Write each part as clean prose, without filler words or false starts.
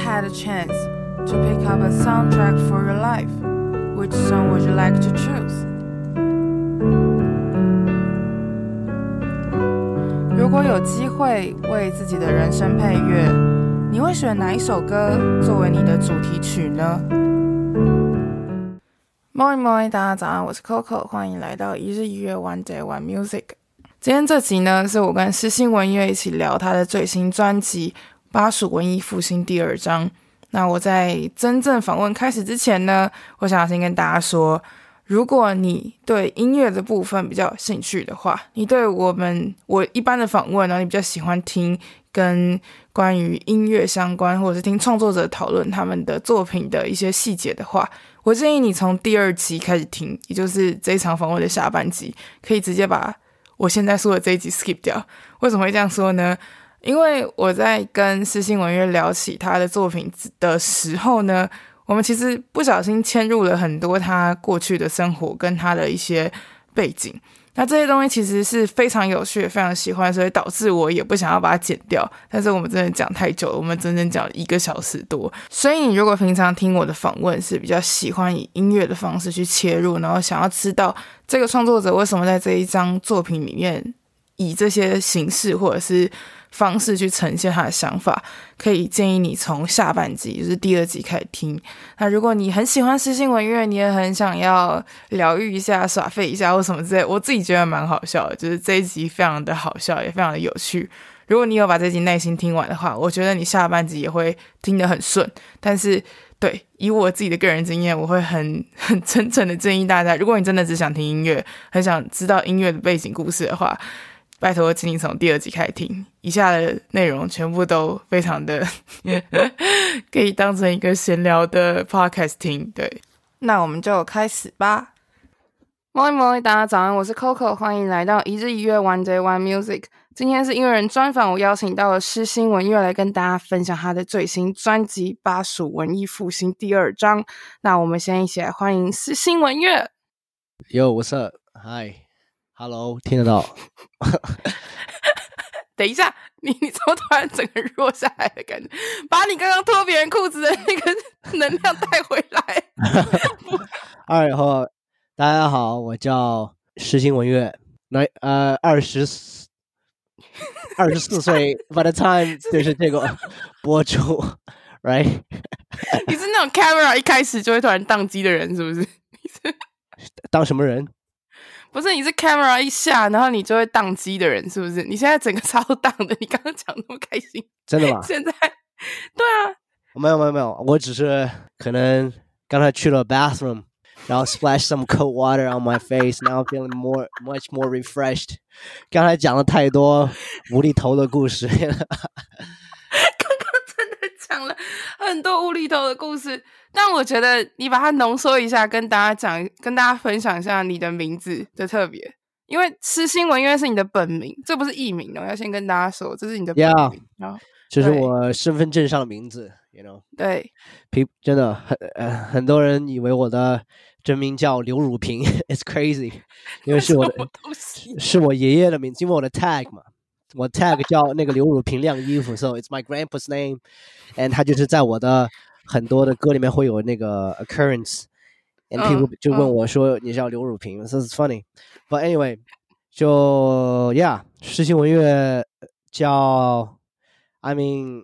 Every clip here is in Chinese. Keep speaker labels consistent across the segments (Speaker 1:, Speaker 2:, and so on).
Speaker 1: had a chance to pick up a soundtrack for your life, which song would you like to choose? 如果有機會為自己的人生配樂，你會選哪一首歌作為你的主題曲呢？ Morning morning， 大家早安，我是 Coco， 歡迎來到一日一樂 One Day One Music。今天這集呢，是我跟詩欣文樂一起聊他的最新專輯《巴蜀文藝復興第二章》。那我在真正訪問開始之前呢，我想要先跟大家說，如果你對音樂的部分比較有興趣的話，你對我一般的訪問，然後你比較喜歡聽跟關於音樂相關，或者是聽創作者討論他們的作品的一些細節的話，我建議你從第二集開始聽，也就是這一場訪問的下半集，可以直接把我現在說的這一集 skip 掉。為什麼會這樣說呢？因為我在跟詩欣文樂聊起他的作品的時候呢，我們其實不小心嵌入了很多他過去的生活跟他的一些背景。那這些東西其實是非常有趣的，非常喜歡，所以導致我也不想要把它剪掉。但是我們真的講太久了，我們整整講了1個小時多。所以你如果平常聽我的訪問是比較喜歡以音樂的方式去切入，然後想要知道這個創作者為什麼在這一張作品裡面以這些形式或者是方式去呈現他的想法，可以建議你從下半集，就是第2集開始聽。那如果你很喜歡詩欣文樂，你也很想要療癒一下、耍廢一下或什麼之類，我自己覺得蠻好笑的，就是這一集非常的好笑，也非常的有趣。如果你有把這集耐心聽完的話，我覺得你下半集也會聽得很順。但是對，以我自己的個人經驗，我會很真誠的建議大家，如果你真的只想听音樂，很想知道音樂的背景故事的話，拜託請你從第2集開始聽，以下的內容全部都非常的可以當成一個閒聊的 podcast 聽。對，那我們就開始吧。Morning morning， 大家早安，我是 Coco， 歡迎來到一日一樂 One Day One Music。今天是音樂人專訪，我邀請到了詩欣文樂來跟大家分享他的最新專輯《巴蜀文藝復興第二章》。那我們先一起來歡迎詩欣文樂。
Speaker 2: Yo, what's up? Hi.Hello， 听得到？
Speaker 1: 等一下，你怎麼突然整個弱下來的感覺？把你剛剛脫別人褲子的那個能量帶回來。
Speaker 2: Alright， 好，大家好，我叫詩欣文樂，24歲。By the time 就是這個播出，right？
Speaker 1: 你是那種 camera 一開始就會突然宕機的人，是不是？
Speaker 2: 當什麼人？
Speaker 1: 不是，你是 camera 一下，然後你就會宕機的人，是不是？你現在整個超宕的，你剛剛講那麼開心，
Speaker 2: 真的嗎？
Speaker 1: 現在，對啊，
Speaker 2: 沒有，我只是可能剛才去了 bathroom， 然後 splash some cold water on my face，now I'm feeling much more refreshed。剛才講了太多無厘頭的故事，剛剛
Speaker 1: 真的講了很多無厘頭的故事。但我覺得你把它濃縮一下，跟大家分享一下你的名字的特別，因為詩欣文樂是你的本名，這不是藝名哦，要先跟大家說，這是你的本名。
Speaker 2: Yeah，這是我身份證上的名字 ，you know。
Speaker 1: 對，
Speaker 2: 真的很多人以為我的真名叫劉汝平 ，it's crazy， 因為是我爺爺的名字，因為我的 tag 嘛，我 tag 叫那個劉汝平晾衣服 ，so it's my grandpa's name，and 他就是在我的很多的歌裡面會有那個 occurrence，and people 就問我說你叫劉汝平，so it's funny，but anyway， 就 yeah， 詩欣文樂叫 I mean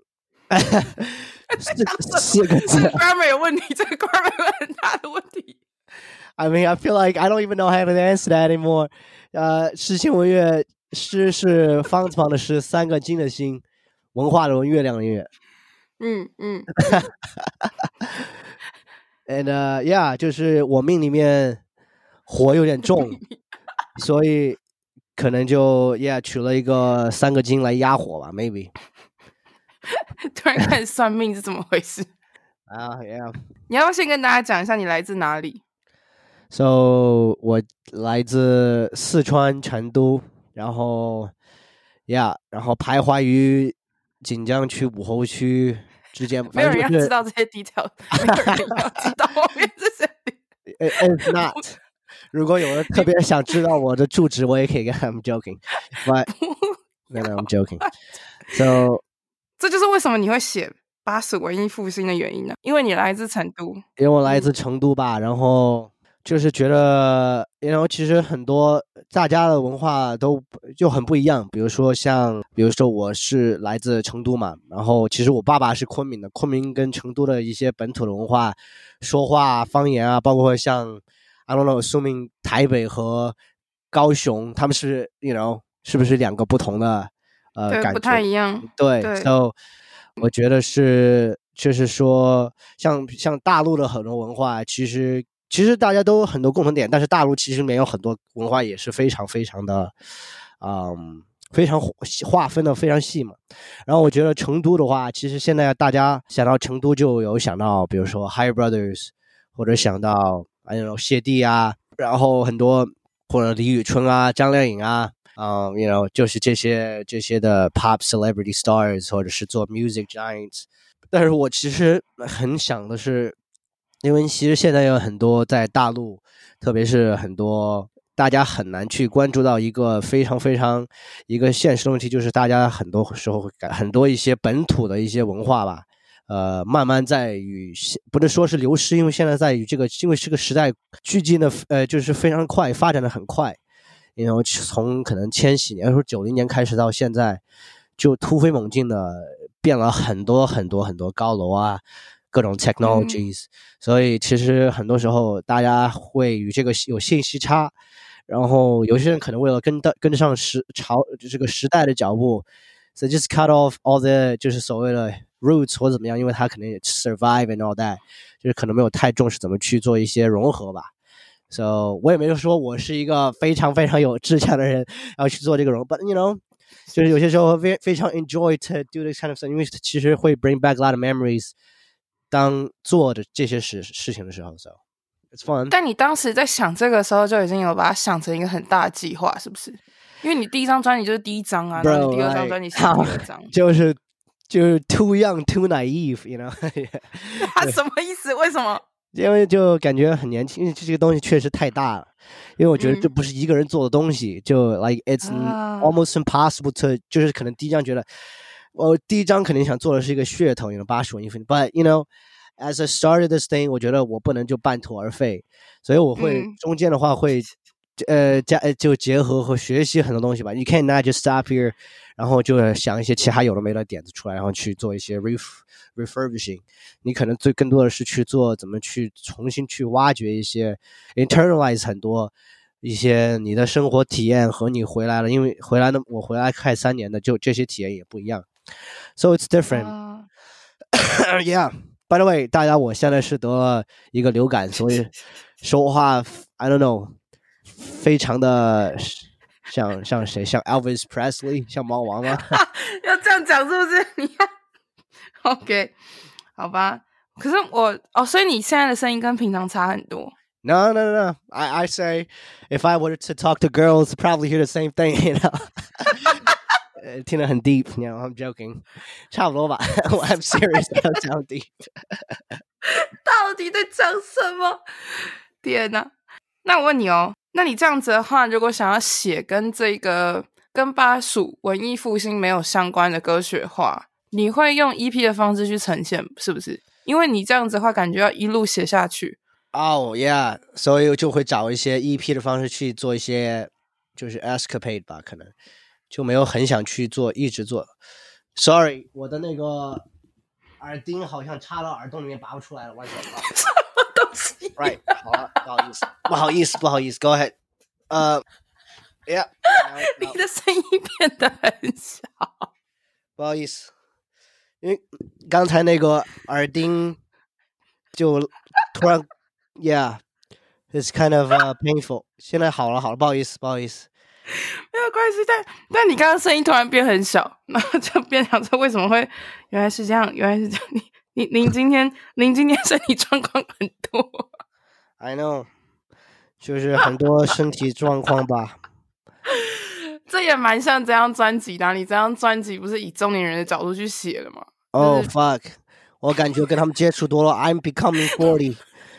Speaker 2: 四個字，這個 grammar 有問題，這個 grammar 有很大的問題。I mean I feel like I don't even know how to answer that anymore。詩欣文樂，詩是方字旁的詩，3個金的金，文化的文，月亮的月。And yeah， 就是我命裡面火有點重，所以可能就 yeah 取了一個3個金來壓火吧 ，maybe。
Speaker 1: 突然開始算命是怎麼回事
Speaker 2: ？Yeah。
Speaker 1: 你要不要先跟大家講一下你來自哪裡
Speaker 2: ？So 我來自四川成都，然後 yeah， 然後徘徊於錦江區武侯區之間，
Speaker 1: 沒有人要知道這些 detail， 沒有人要知道後面這些。
Speaker 2: It's not。如果有人特別想知道我的住址，我也可以跟他們 joking。But no, I'm joking. So
Speaker 1: 這就是為什麼你會寫巴蜀文藝復興的原因呢？因為你來自成都。
Speaker 2: 因為我來自成都吧，然後就是覺得，其實很多大家的文化都就很不一樣。比如說我是來自成都嘛，然後其實我爸爸是昆明的，昆明跟成都的一些本土的文化、說話、方言啊，包括像 I don't know， 說明台北和高雄，他們是是不是兩個不同的
Speaker 1: 對，
Speaker 2: 感覺
Speaker 1: 不太一樣。
Speaker 2: 對 ，so 我覺得就是說像大陸的很多文化，其實大家都有很多共同點，但是大陸其實裡面有很多文化也是非常非常的非常劃分的非常細嘛。然後我覺得成都的話，其實現在大家想到成都就有想到比如說 Hi Brothers， 或者想到謝帝啊，然後很多或者李宇春啊、張靓颖啊就是这些的 pop celebrity stars， 或者是做 music giants。 但是我其實很想的是，因為其實現在有很多在大陸，特別是很多大家很難去關注到一個非常非常一個現實的問題，就是大家很多時候會很多一些本土的一些文化吧，慢慢在於不能說是流失，因為現在在於因為這個時代劇進的就是非常快，發展的很快，從可能千禧年或者90年開始到現在，就突飛猛進的變了很多很多很多高樓啊，各種 technologies，所以其實很多時候大家會與這個有信息差，然後有些人可能為了跟得上這個時代的腳步， so just cut off all the 就是所謂的 roots 或者怎麼樣，因為他可能也 survive and all that， 就是可能沒有太重視怎麼去做一些融合吧。So 我也沒有說我是一個非常非常有志向的人要去做這個融合 ，but就是有些時候非常 enjoy to do this kind of stuff， 因為其實會 bring back a lot of memories， 當做的這些事情的時候 ，so it's fun。
Speaker 1: 但你當時在想這個時候就已經有把它想成一個很大的計劃，是不是？因為你第一張專輯就是第一張啊，然後你第二張專輯是第二張，就是
Speaker 2: too young too naive，
Speaker 1: 什麼意思？為什麼？
Speaker 2: 因為就感覺很年輕，因為這個東西確實太大了，因為我覺得這不是一個人做的東西，就 like it's almost impossible to， 就是可能第一張覺得我第一張肯定想做的是一個噱頭，巴蜀文藝復興 ，but as I started this thing， 我覺得我不能就半途而廢，所以我會中間的話會就結合和學習很多東西吧。You can't not just stop here， 然後就想一些其他有的沒的點子出來，然後去做一些 refurbishing。你可能更多的是去做怎麼去重新去挖掘一些 internalize 很多一些你的生活體驗和你回來了，因為我回來快3年的，就這些體驗也不一樣。So it's different。Yeah。By the way， 大家我現在是得了一個流感，所以說話 I don't know， 非常的像誰？像 Elvis Presley， 像貓王嗎？
Speaker 1: 要這樣講是不是？你要 OK， 好吧。可是所以你現在的聲音跟平常差很多。
Speaker 2: No. I say if I were to talk to girls, probably hear the same thing. 聽得很 deep, I'm joking. 差不多吧。I'm serious, I'm sound deep.
Speaker 1: 到底在講什麼？天哪！那我問你那你這樣子的話，如果想要寫跟巴蜀文藝復興沒有相關的歌曲的話，你會用 EP 的方式去呈現，是不是？因為你這樣子的話，感覺要一路寫下去。
Speaker 2: Oh yeah， 所以就會找一些 EP 的方式去做一些就是 escapade 吧，可能就沒有很想去一直做。Sorry， 我的那個耳釘好像插到耳洞裡面拔不出來了，
Speaker 1: 什麼東西
Speaker 2: ？Right， 好了，不好意思 ，Go ahead。Yeah，
Speaker 1: 你的聲音變得很小，
Speaker 2: 不好意思，因為剛才那個耳釘就突然 ，Yeah，it's kind of painful。現在好了，不好意思。
Speaker 1: 沒有關係，但你剛剛聲音突然變很小，然後就變成說為什麼會原來是這樣，您今天身體狀況很多。
Speaker 2: I know， 就是很多身體狀況吧。
Speaker 1: 這也蠻像這張專輯的，你這張專輯不是以中年人的角度去寫的嗎？
Speaker 2: Oh fuck， 我感覺跟他們接觸多了。I'm becoming 40，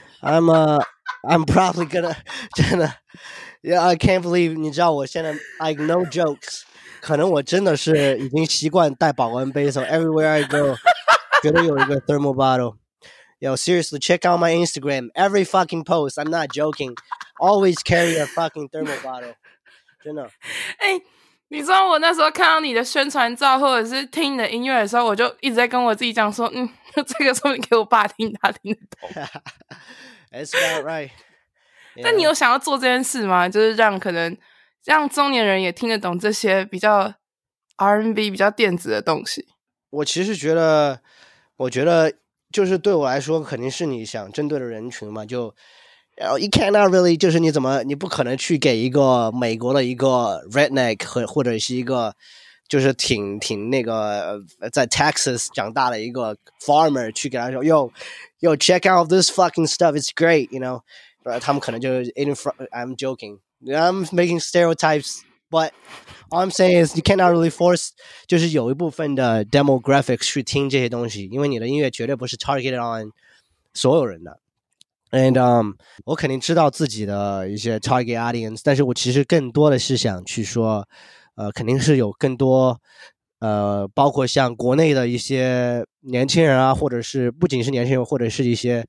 Speaker 2: I'm probably gonna 真的。Yeah, I can't believe， 你知道我現在 like no jokes， 可能我真的是已經習慣帶保溫杯，so everywhere I go， 絕對有一個 thermal bottle. Yo, seriously, check out my Instagram. Every fucking post, I'm not joking. Always carry a fucking thermal bottle. 真的。
Speaker 1: 你知道我那时候看到你的宣傳照，或者是聽你的音樂的時候，我就一直在跟我自己講說，這個說不定給我爸聽，他聽得懂。
Speaker 2: That's about right.
Speaker 1: 但你有想要做這件事嗎？就是讓中年人也聽得懂這些比較 R&B 比較電子的東西。
Speaker 2: 我其實覺得就是對我來說，肯定是你想針對的人群嘛，就。You cannot really 就是你不可能去給一個美國的一個 redneck 或者是一個就是挺那個在 Texas 長大的一個 farmer 去給他說 yo check out this fucking stuff, it's great, you know. 他們可能就 I'm joking, I'm making stereotypes, but all I'm saying is you cannot really force 就是有一部分的 demographics 去聽這些東西，因為你的音樂絕對不是 targeted on 所有人的。And 我肯定知道自己的一些 target audience， 但是我其實更多的是想去說，肯定是有更多，包括像國內的一些年輕人啊，或者是不僅是年輕人，或者是一些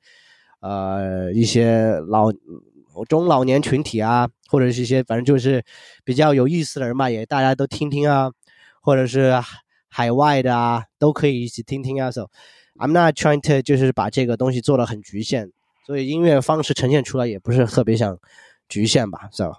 Speaker 2: 中老年群體啊，或者是一些反正就是比較有意思的人吧，也大家都聽聽啊，或者是海外的啊，都可以一起聽聽啊。So I'm not trying to 就是把這個東西做得很局限。所以音樂方式呈現出來也不是特別想局限吧 ，so，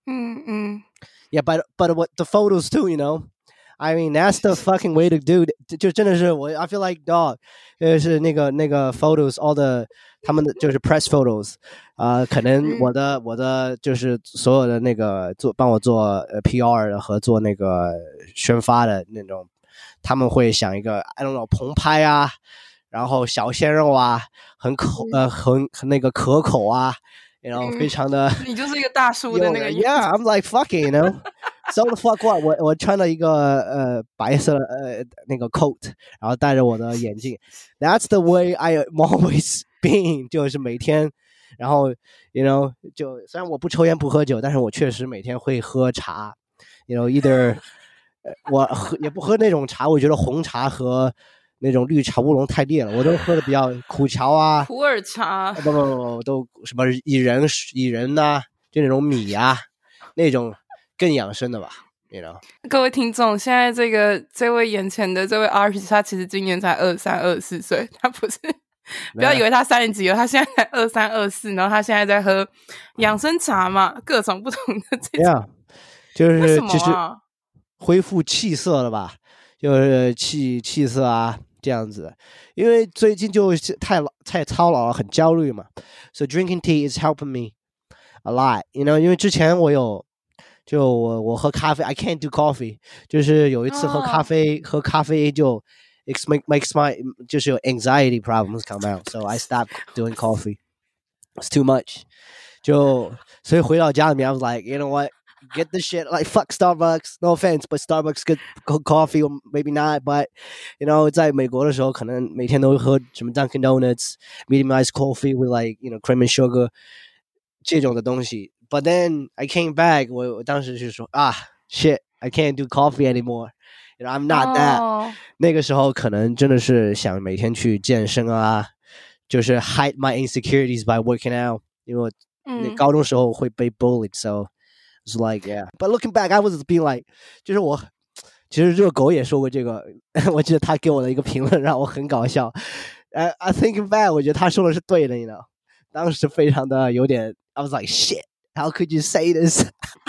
Speaker 2: yeah, but what the photos too, you know, I mean that's the fucking way to do， 就真的是我 I feel like dog， 是那個 photos all the 他們的就是 press photos， 可能我的就是所有的那個幫我做PR 的和做那個宣發的那種，他們會想一個 I don't know 澎湃啊。然後小鮮肉啊，很那個可口啊，然後非常的，
Speaker 1: 你就是一個大叔的那個
Speaker 2: ，Yeah, I'm like fucking, you know, so the fuck what？ 我穿了一個白色的那個 coat， 然後戴着我的眼鏡 ，That's the way I'm always been， 就是每天，然後 you know， 就雖然我不抽煙不喝酒，但是我確實每天會喝茶 ，you know either 我也不喝那種茶，我覺得紅茶和那種綠茶烏龍太烈了，我都喝的比較苦蕎啊，
Speaker 1: 普洱茶，
Speaker 2: 不，都什麼薏仁啊，就那種米啊，那種更養生的吧 ，you know。
Speaker 1: 各位聽眾，現在這位眼前的這位 artist， 他其實今年才23、24歲，他不是，不要以為他30幾了，他現在才23、24，然後他現在在喝養生茶嘛，各種不同的這種，yeah，
Speaker 2: 就是其實恢復氣色了吧，就是氣色啊。這樣子，因為最近就太操勞了，很焦慮嘛。So drinking tea is helping me a lot, you know. 因為之前我喝咖啡 ，I can't do coffee， 就是有一次喝咖啡就 makes my 就是有 anxiety problems come out, so I stopped doing coffee. It's too much. 所以回到家裡面 ，I was like, you know what?Get the shit like fuck Starbucks. No offense, but Starbucks good coffee or maybe not. But you know, 在美國的時候，可能每天都會喝什麼 Dunkin' Donuts, medium iced coffee with like you know cream and sugar 這種的東西。But then I came back. 我當時就說shit, I can't do coffee anymore. You know, I'm not that. 那個時候可能真的是想每天去健身啊，就是 hide my insecurities by working out. 因為我高中時候會被 bullied, so.It's like, yeah. But looking back, I was being like, 就是我，其實熱狗也說過這個，我記得他給我的一個評論讓我很搞笑。I thinking back, 我覺得他說的是對的，你知道。當時非常的有點 I was like, shit, how could you say this?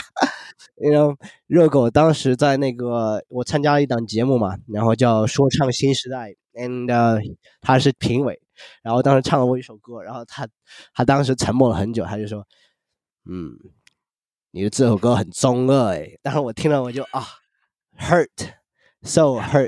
Speaker 2: You know, 熱狗當時在那個我參加了一檔節目嘛，然後叫說唱新時代 ，and 他是評委，然後當時唱了我一首歌，然後他當時沉默了很久，他就說，你的這首歌很中二誒，但是我聽了我就hurt, so hurt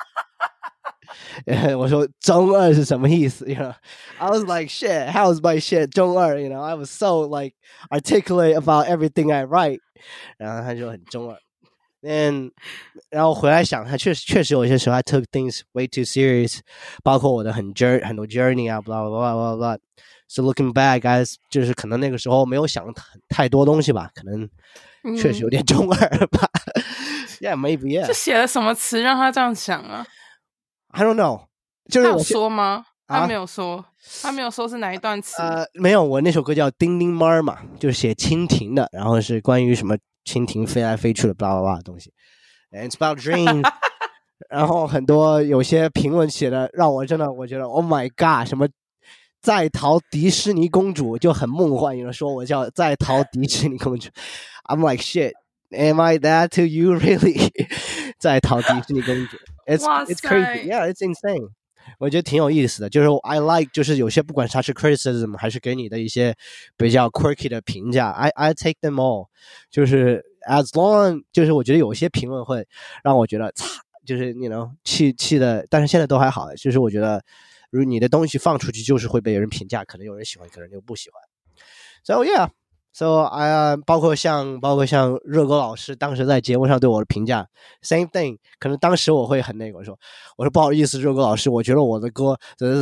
Speaker 2: 我說中二是什麼意思 you know? I was like shit, how's my shit 中二 you know? I was so like articulate about everything I write 然後他就很中二然後回來想他確實有些時候I took things way too serious 包括我的很多 journey 啊 blah blah blah blah So looking back, guys, 就是可能那個時候沒有想太多東西吧，可能確實有點中二吧。Yeah, maybe, yeah.
Speaker 1: 就寫了什麼詞讓他這樣想啊
Speaker 2: ？I don't know. 就是
Speaker 1: 他有說嗎？他沒有说，他沒有说是哪一段詞。
Speaker 2: 没有，我那首歌叫《叮叮猫》嘛，就是寫蜻蜓的，然後是關於什麼蜻蜓飛來飛去的，巴拉巴拉的東西。And it's about dreams 。然後很多有些評論寫的讓我真的，我覺得 Oh my God， 什麼在逃迪士尼公主就很夢幻，有人說我叫在逃迪士尼公主。I'm like shit。Am I that to you really？ 在逃迪士尼公主 ，it's crazy， yeah， it's insane。我覺得挺有意思的，就是 I like， 就是有些不管它是 criticism 還是給你的一些比較 quirky 的評價 ，I take them all。就是 as long， 就是我覺得有些評論會讓我覺得就是 you know 氣的，但是現在都還好。就是我覺得，如果你的東西放出去，就是會被人評價，可能有人喜歡，可能就不喜歡。So yeah。So包括像熱哥老師當時在節目上對我的評價 ，same thing。可能當時我會很那個，我說不好意思，熱哥老師，我覺得我的歌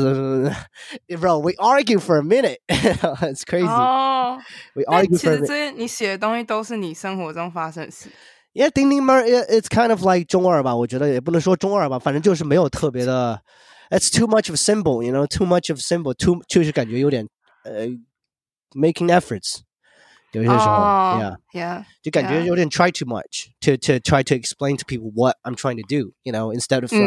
Speaker 2: ，bro， we argue for a minute，it's crazy。we argue for a minute。
Speaker 1: 其實這些你寫的東西都是你生活中發生的事。
Speaker 2: Yeah， 叮叮貓 ，it's kind of like 中二吧，我覺得也不能說中二吧，反正就是沒有特別的 ，it's too much of symbol，you know，too much of symbol， 就是感覺有點making efforts。有些時候
Speaker 1: yeah，
Speaker 2: 就感覺有點 try too much to try to explain to people what I'm trying to do, you know, instead of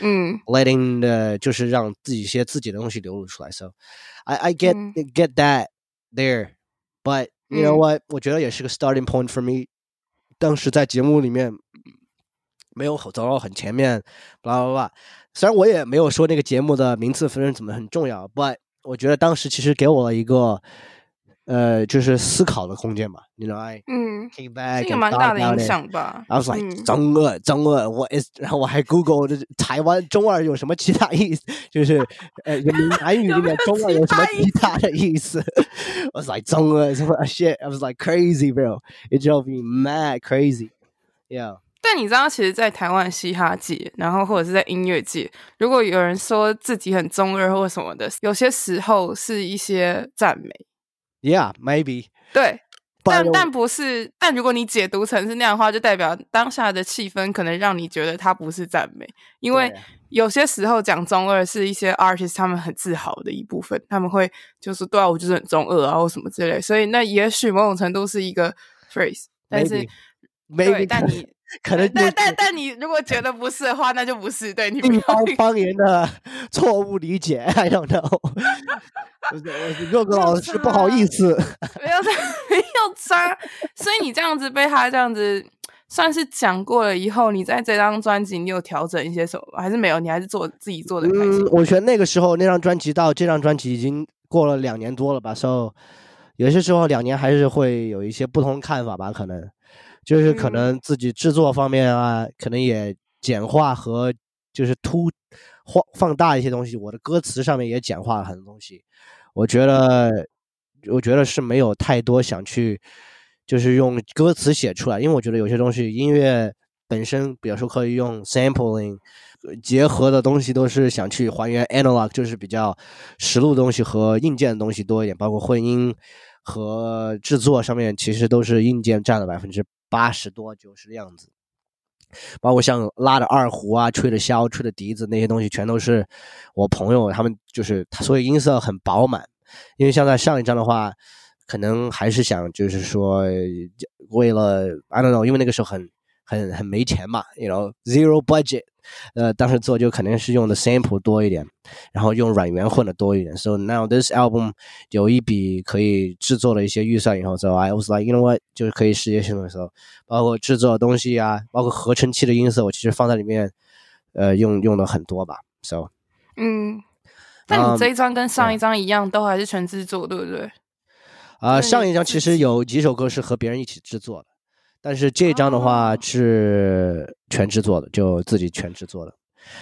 Speaker 2: letting 就是讓自己些自己的東西流露出來。So I get that there, but you know what？ 我覺得也是個 starting point for me。當時在節目裡面沒有走到很前面，blah blah blah。雖然我也沒有說那個節目的名次分怎麼很重要 ，but 我覺得當時其實給我了一個。就是思考的空間嘛 ，you know， I came back，
Speaker 1: 這個蠻大的影響吧。
Speaker 2: I was like 中二，然後我還 Google 台灣中二有什麼其他意思，就是閩南語裡面中二有什麼其他的意思？I was like 中二什麼 shit，I was like crazy bro，it drove me mad crazy，yeah。
Speaker 1: 但你知道，其實，在台灣嘻哈界，然後或者是在音樂界，如果有人說自己很中二或什麼的，有些時候是一些讚美。
Speaker 2: Yeah, maybe.
Speaker 1: 對，但不是，但如果你解讀成是那樣的話，就代表當下的氣氛可能讓你覺得它不是讚美，因為有些時候講中二是一些 artist 他們很自豪的一部分，他們會就是對啊，我就是很中二啊或什麼之類，所以那也許某種程度是一個 phrase， 但是
Speaker 2: maybe
Speaker 1: 但你
Speaker 2: 可能
Speaker 1: 但你如果覺得不是的話，那就不是，對你
Speaker 2: 地方方言的錯誤理解 ，I don't know。热哥老師不好意思，
Speaker 1: 沒有差，所以你這樣子被他這樣子算是講過了以後，你在這張專輯你有調整一些什麼嗎？還是沒有？你還是自己做的開心？
Speaker 2: 我覺得那個時候那張專輯到這張專輯已經過了2年多了吧，所以有些時候2年還是會有一些不同看法吧，可能就是可能自己製作方面啊，可能也簡化和就是放大一些東西，我的歌詞上面也簡化了很多東西。我覺得是沒有太多想去就是用歌詞寫出來，因為我覺得有些東西音樂本身比如說可以用 sampling 結合的東西都是想去還原 analog， 就是比較實錄的東西和硬件的東西多一點，包括混音和製作上面其實都是硬件佔了80%多90%的樣子，包括像拉的二胡啊、吹的簫、吹的笛子那些東西全都是我朋友他們，就是所以音色很飽滿。因為像在上一張的話可能還是想就是說為了 I don't know， 因為那個時候很沒錢嘛， you know zero budget， 當時做就肯定是用的 sample 多一點，然後用軟元混的多一點。 So now this album 有一筆可以制作的一些預算以後， so I was like you know what， 就是可以世界性的時候，包括制作的東西啊，包括合成器的音色我其實放在裡面用了很多吧。 So
Speaker 1: 但你這一張跟上一張一樣，都還是全制作，對不對？
Speaker 2: 上一張其實有幾首歌是和別人一起制作的，但是這張的話是全制作的，就自己全制作的。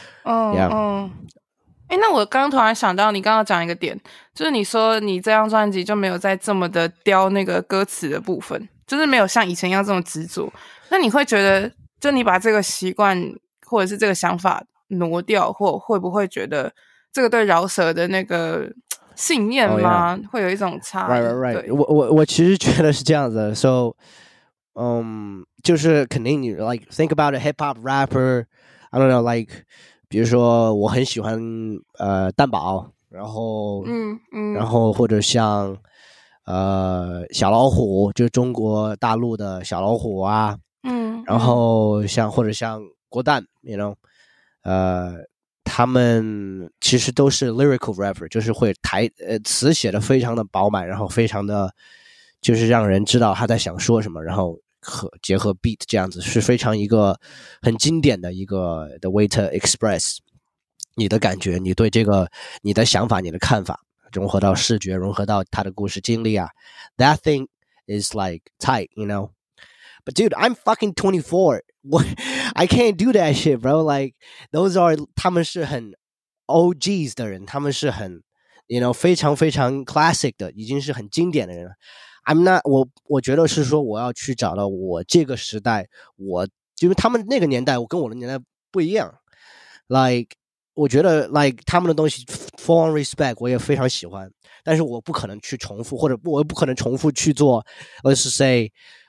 Speaker 1: 那我剛剛突然想到，你剛剛講一個點，就是你說你這張專輯就沒有再這麼的雕那個歌詞的部分，就是沒有像以前一樣這麼執着。那你會覺得，就你把這個習慣或者是這個想法挪掉，或會不會覺得這個對饒舌的那個信念嗎？會有一種差異。
Speaker 2: Right. 我其實覺得是這樣子的。So，就是肯定你 like think about a hip hop rapper，I don't know like。 比如說我很喜歡蛋堡，然后然后或者像小老虎，就是中国大陸的小老虎啊，然後或者像郭旦 you know 他們其實都是 lyrical rapper， 就是会詞寫的非常的飽滿，然後非常的就是讓人知道他在想說什麼，然後結合 beat 這樣子，是非常一個很經典的一個的 way to express 你的感覺，你对這個你的想法，你的看法，融合到視覺，融合到他的故事經歷啊 that thing is like tight you know but dude I'm fucking 24 I can't do that shit bro like those are 他們是很 OGs 的人，他們是很 you know 非常非常 classic 的，已經是很經典的人了。I'm not 我覺得是說我要去找到我這個時代，因為他們那個年代我跟我的年代不一樣 like 我覺得 like 他們的東西 full on respect 我也非常喜歡，但是我不可能去重複，或者我不可能重複去做 let's say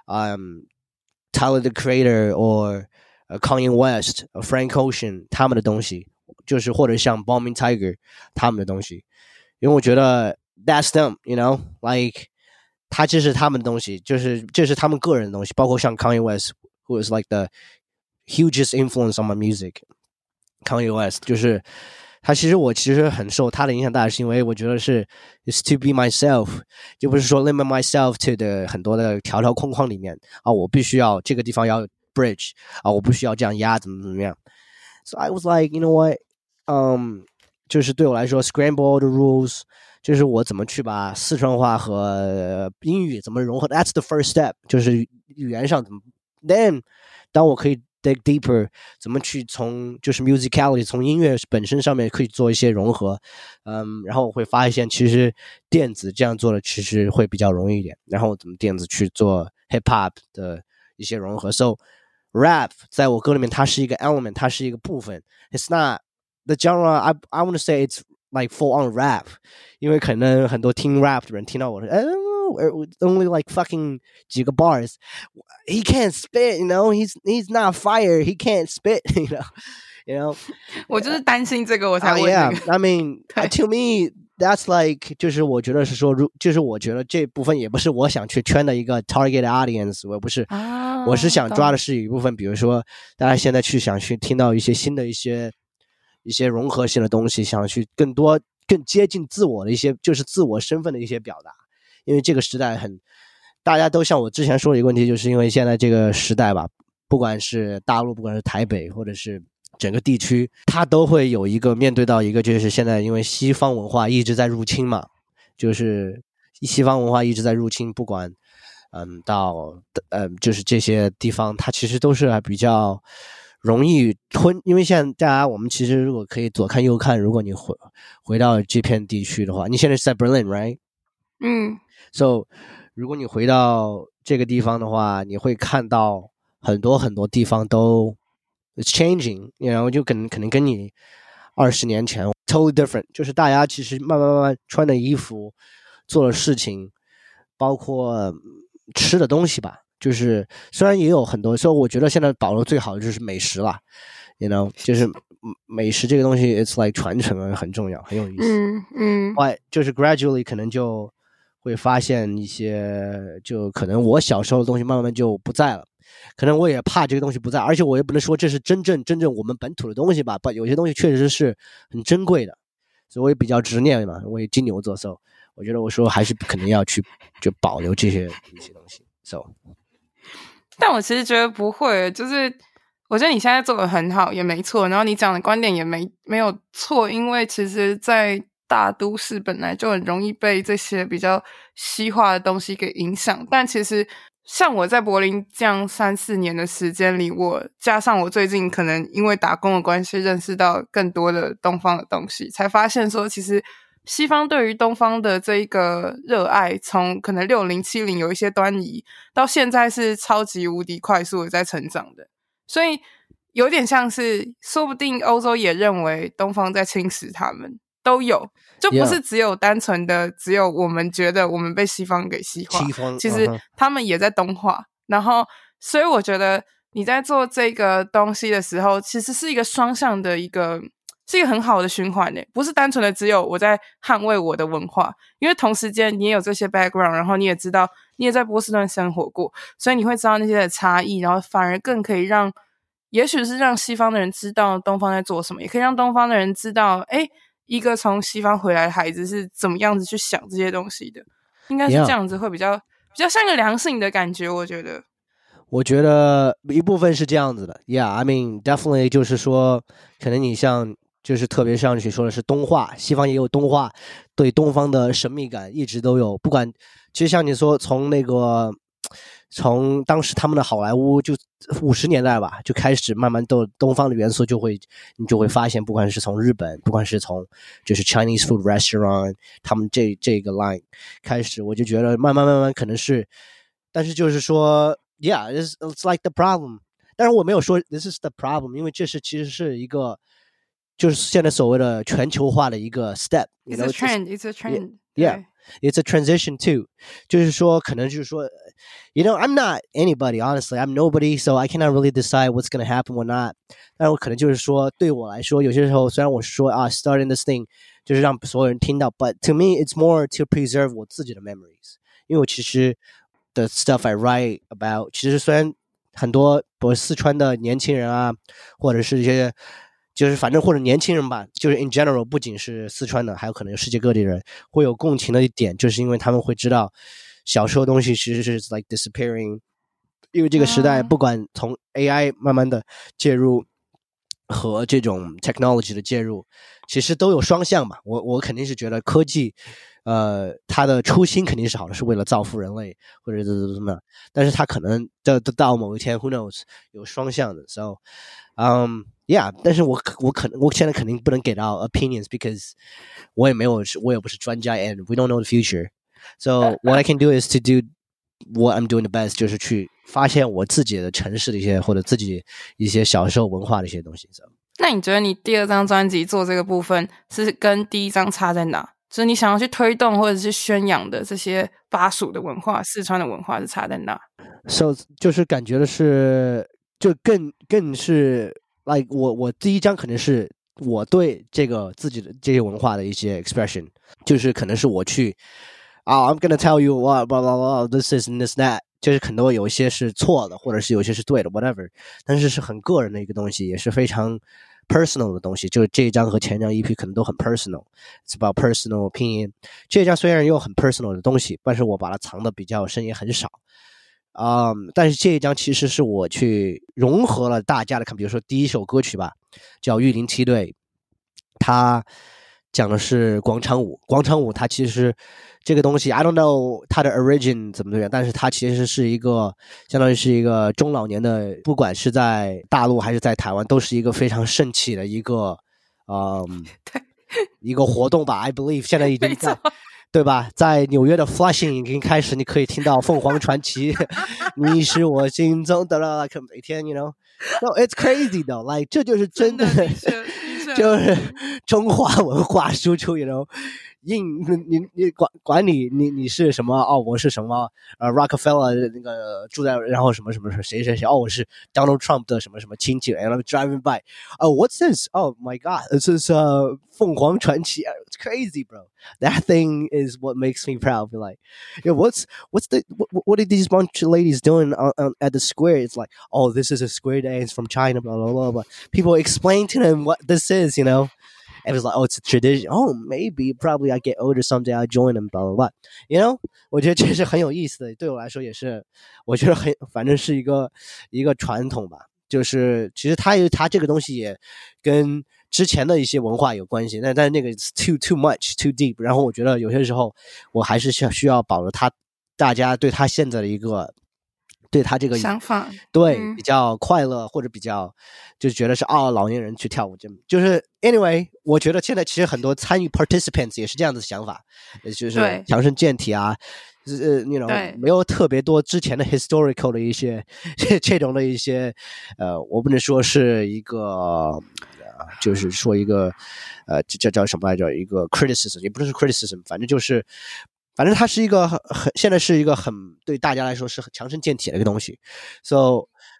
Speaker 2: Tyler the Creator or Kanye West Frank Ocean 他們的東西，就是或者像 Bombing Tiger 他們的東西，因為我覺得 that's them you know like 这是他们的東西，就是这是他们個人的東西，包括像 Kanye West who is like the hugest influence on my music Kanye West 就是他我其實很受他的影響大，是因為我覺得是 is to be myself 就不是說 limit myself to 的很多的條條框框裡面啊，我必須要這個地方要 bridge 啊，我不需要這樣壓怎麼樣 so I was like you know what 就是對我來說 scramble all the rules 就是我怎麼去把四川話和英語怎麼融合 that's the first step 就是語言上怎麼 then 當我可以 dig deeper 怎麼去從就是 musicality 從音樂本身上面可以做一些融合然後我會發現其實電子這樣做的其實會比較容易一點，然後怎麼電子去做 hip hop 的一些融合 so rap 在我歌裡面它是一個 element 它是一個部分 it's not the genre I want to say it's like full on rap 因為可能很多聽 rap 的人聽到我說only like fucking 幾個 bars he can't spit you know he's not fire he can't spit you know
Speaker 1: 我就是擔心這個我才問
Speaker 2: yeah I mean to me that's like 就是我覺得是說就是我覺得這部分也不是我想去圈的一個 target audience 我不是我是想抓的是一部分比如說大家現在想去聽到一些新的一些融合性的東西，想去更接近自我的一些就是自我身份的一些表達，因為這個時代大家都像我之前說的一個問題，就是因為現在這個時代吧，不管是大陸不管是台北或者是整個地區，它都會有一個面對到一個就是現在因為西方文化一直在入侵嘛，就是西方文化一直在入侵，不管到就是這些地方它其實都是還比較容易因為現在大家我們其實如果可以左看右看，如果你回到這片地區的話，你現在是在 Berlin right so 如果你回到這個地方的話，你會看到很多很多地方都 it's changing 然後就可能跟你20年前 totally different 就是大家其實慢慢穿的衣服做的事情包括吃的東西吧，就是雖然也有很多，所以我覺得現在保留最好的就是美食啦 you know 就是美食這個東西 it's like 傳承很重要很有意思就是 gradually 可能就會發現一些就可能我小時候的東西慢慢就不在了，可能我也怕這個東西不在，而且我也不能說這是真正我們本土的東西吧，有些東西確實是很珍貴的，所以我也比較執念嘛，我也金牛座 so 我覺得我說還是肯定要去就保留這些一些東西 so
Speaker 1: 但我其實覺得不會，就是我覺得你現在做得很好也沒錯，然後你講的觀點也沒有錯，因為其實在大都市本來就很容易被這些比較西化的東西給影響，但其實像我在柏林這樣3-4年的時間裡，我加上我最近可能因為打工的關係認識到更多的東方的東西，才發現說其實西方對於東方的這一個熱愛，從可能60、70有一些端倪，到現在是超級無敵快速的在成長的，所以有點像是說不定歐洲也認為東方在侵蝕他們，都有，就不是只有單純的只有我們覺得我們被西方給西化，其實他們也在東化，然後所以我覺得你在做這個東西的時候，其實是一個雙向的是一個很好的循環耶，不是單純的只有我在捍衛我的文化，因為同時間你也有這些 background， 然後你也知道你也在波士頓生活過，所以你會知道那些的差異，然後反而更可以也許是讓西方的人知道東方在做什麼，也可以讓東方的人知道，一個從西方回來的孩子是怎麼樣子去想這些東西的，應該是這樣子會比較像一個良性的感覺，我覺得
Speaker 2: 一部分是這樣子的 ，Yeah, I mean definitely 就是說，可能你像就是特別上去說的是東化，西方也有東化，對東方的神秘感一直都有，不管其實像你說從當時他們的好萊塢就50年代吧，就開始慢慢都東方的元素你就會發現，不管是從日本，不管是從就是 Chinese food restaurant 他們這個 line 開始，我就覺得慢慢可能是，但是就是說 Yeah, it's like the problem， 但是我沒有說 this is the problem， 因為这其實是一個就是現在所謂的全球化的一個 step，
Speaker 1: It's a trend,
Speaker 2: yeah, it's a transition too， 就是說可能就是說I'm not anybody, honestly, I'm nobody, so I cannot really decide what's going to happen or not， 但我可能就是說对我來說有些時候雖然我說starting this thing 就是讓所有人聽到， but to me it's more to preserve 我自己的 memories， 因為我其實the stuff I write about 其實雖然很多四川的年輕人啊，或者是一些就是反正或者年輕人吧，就是 in general 不僅是四川的，還有可能有世界各地的人會有共情的一點，就是因為他們會知道小時候的東西其實是 like disappearing， 因為這個時代不管從 AI 慢慢的介入和這種 technology 的介入，其實都有雙向嘛。我肯定是覺得科技它的初心肯定是好的，是為了造福人類或者怎麼樣，但是它可能到某一天 who knows 有雙向的 so yeah， 但是我現在肯定不能給到 opinions because 我也不是專家 and we don't know the future， so what I can do is to do what I'm doing the best， 就是去發現我自己的城市的一些或者自己一些小時候文化的一些東西。So，
Speaker 1: 那你覺得你第二張專輯做這個部分是跟第一張差在哪？就是你想要去推動或者是宣揚的這些巴蜀的文化、四川的文化是差在哪？
Speaker 2: So 就是感覺的是就更是 like 我第一張可能是我對這個自己的這些文化的一些 expression， 就是可能是我去I'm gonna tell you what blah blah blah this is and this that， 就是很多有一些是錯的，或者是有些是對的 whatever， 但是是很個人的一個東西，也是非常 personal 的東西，就是這一張和前一張 EP 可能都很 personal， it's about personal opinion。 這一張雖然有很 personal 的東西，但是我把它藏的比較深，也很少但是這一張其實是我去融合了大家的看，比如說第一首歌曲吧，叫玉林七隊，它講的是廣場舞。廣場舞它其實這個東西 I don't know 它的 origin 怎麼樣，但是它其實是一個相當於是一個中老年的，不管是在大陸還是在台灣，都是一個非常盛起的一個一個活動吧。 I believe 現在已經在對吧，在紐約的 Flushing 已經開始，你可以聽到鳳凰傳奇你是我心中的每天 you know no it's crazy though like 這就是真的就是中華文化輸出 you know， 你管你是什麼我是什麼Rockefeller 那個住在然後什麼誰我是 Donald Trump 的什麼親戚 and I'm driving by what's this oh my god this is 鳳凰傳奇 it's crazy bro that thing is what makes me proud be like what are these bunch of ladies doing at the square it's like oh this is a square dance from China blah blah blah blah people explain to them what this is you know and it was like oh it's a tradition oh maybe probably I get older someday I'll join them blah blah blah you know 我覺得這是很有意思的，對我來說也是我覺得反正是一個傳統吧，就是其實它這個東西也跟之前的一些文化有關係，但是那個 too much too deep， 然後我覺得有些時候我還是需要保留大家對他現在的一個對他這個
Speaker 1: 想法，
Speaker 2: 對比較快樂或者比較就覺得是老年人去跳舞就是 anyway 我覺得現在其實很多參與 participants 也是這樣的想法，就是強身健體啊you know 沒有特別多之前的 historical 的一些這種的一些我不能說是一個就是說一個這叫什麼來着，一個 criticism 也不是 criticism， 反正它是一個现在是一個很對大家來說是很強身健體的一個東西 so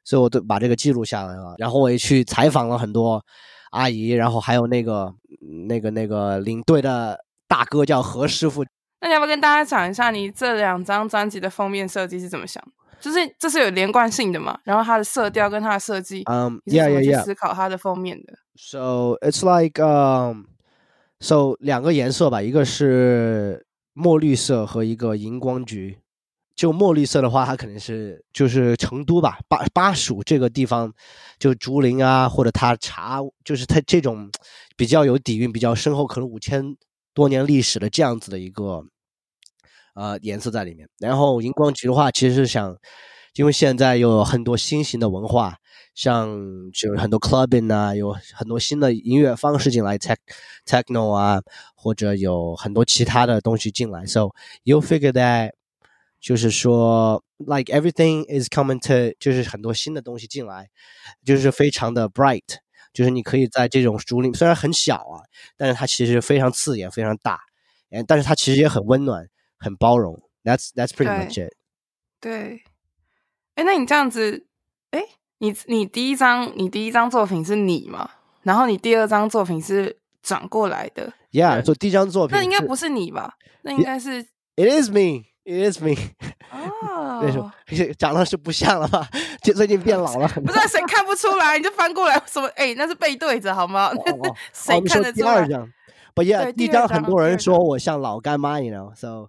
Speaker 2: 所以我都把這個記錄下來了。然後我也去採訪了很多阿姨，然後還有那個領隊的大哥叫何師傅。
Speaker 1: 那你要不要跟大家講一下你這2張專輯的封面設計是怎麼想的？就是這是有連貫性的嘛？然後它的色調跟它的設計，你是怎麼去思考它的封面的？
Speaker 2: So it's like so 2個顏色吧，一個是墨綠色和一個熒光橘。就墨綠色的話，它可能是就是成都吧，巴蜀這個地方，就竹林啊，或者它茶，就是它這種比較有底蘊、比較深厚，可能5000多年歷史的這樣子的一個顏色在裡面。然後熒光橘的話，其實是想，因為現在有很多新型的文化，像就很多 clubbing 啊，有很多新的音樂方式進來 techno 啊，或者有很多其他的東西進來。So you figure that 就是說 like everything is coming to 就是很多新的東西進來，就是非常的 bright， 就是你可以在這種竹林雖然很小啊，但是它其實非常刺眼，非常大，但是它其實也很溫暖，很包容。That's pretty much it。
Speaker 1: 对，那你這樣子，你第一張作品是你嘛？然後你第2張作品是轉過來的。
Speaker 2: Yeah， 所以第一張作品
Speaker 1: 那應該不是你吧？那應該是
Speaker 2: It is me。It is me。
Speaker 1: 哦，
Speaker 2: 長得是不像了吧？最近變老了。
Speaker 1: 不是誰看不出來？你就翻過來什麼？那是背對着好嗎？誰看得出來？
Speaker 2: 第2張，But yeah， 第1張很多人說我像老乾媽 ，you know，so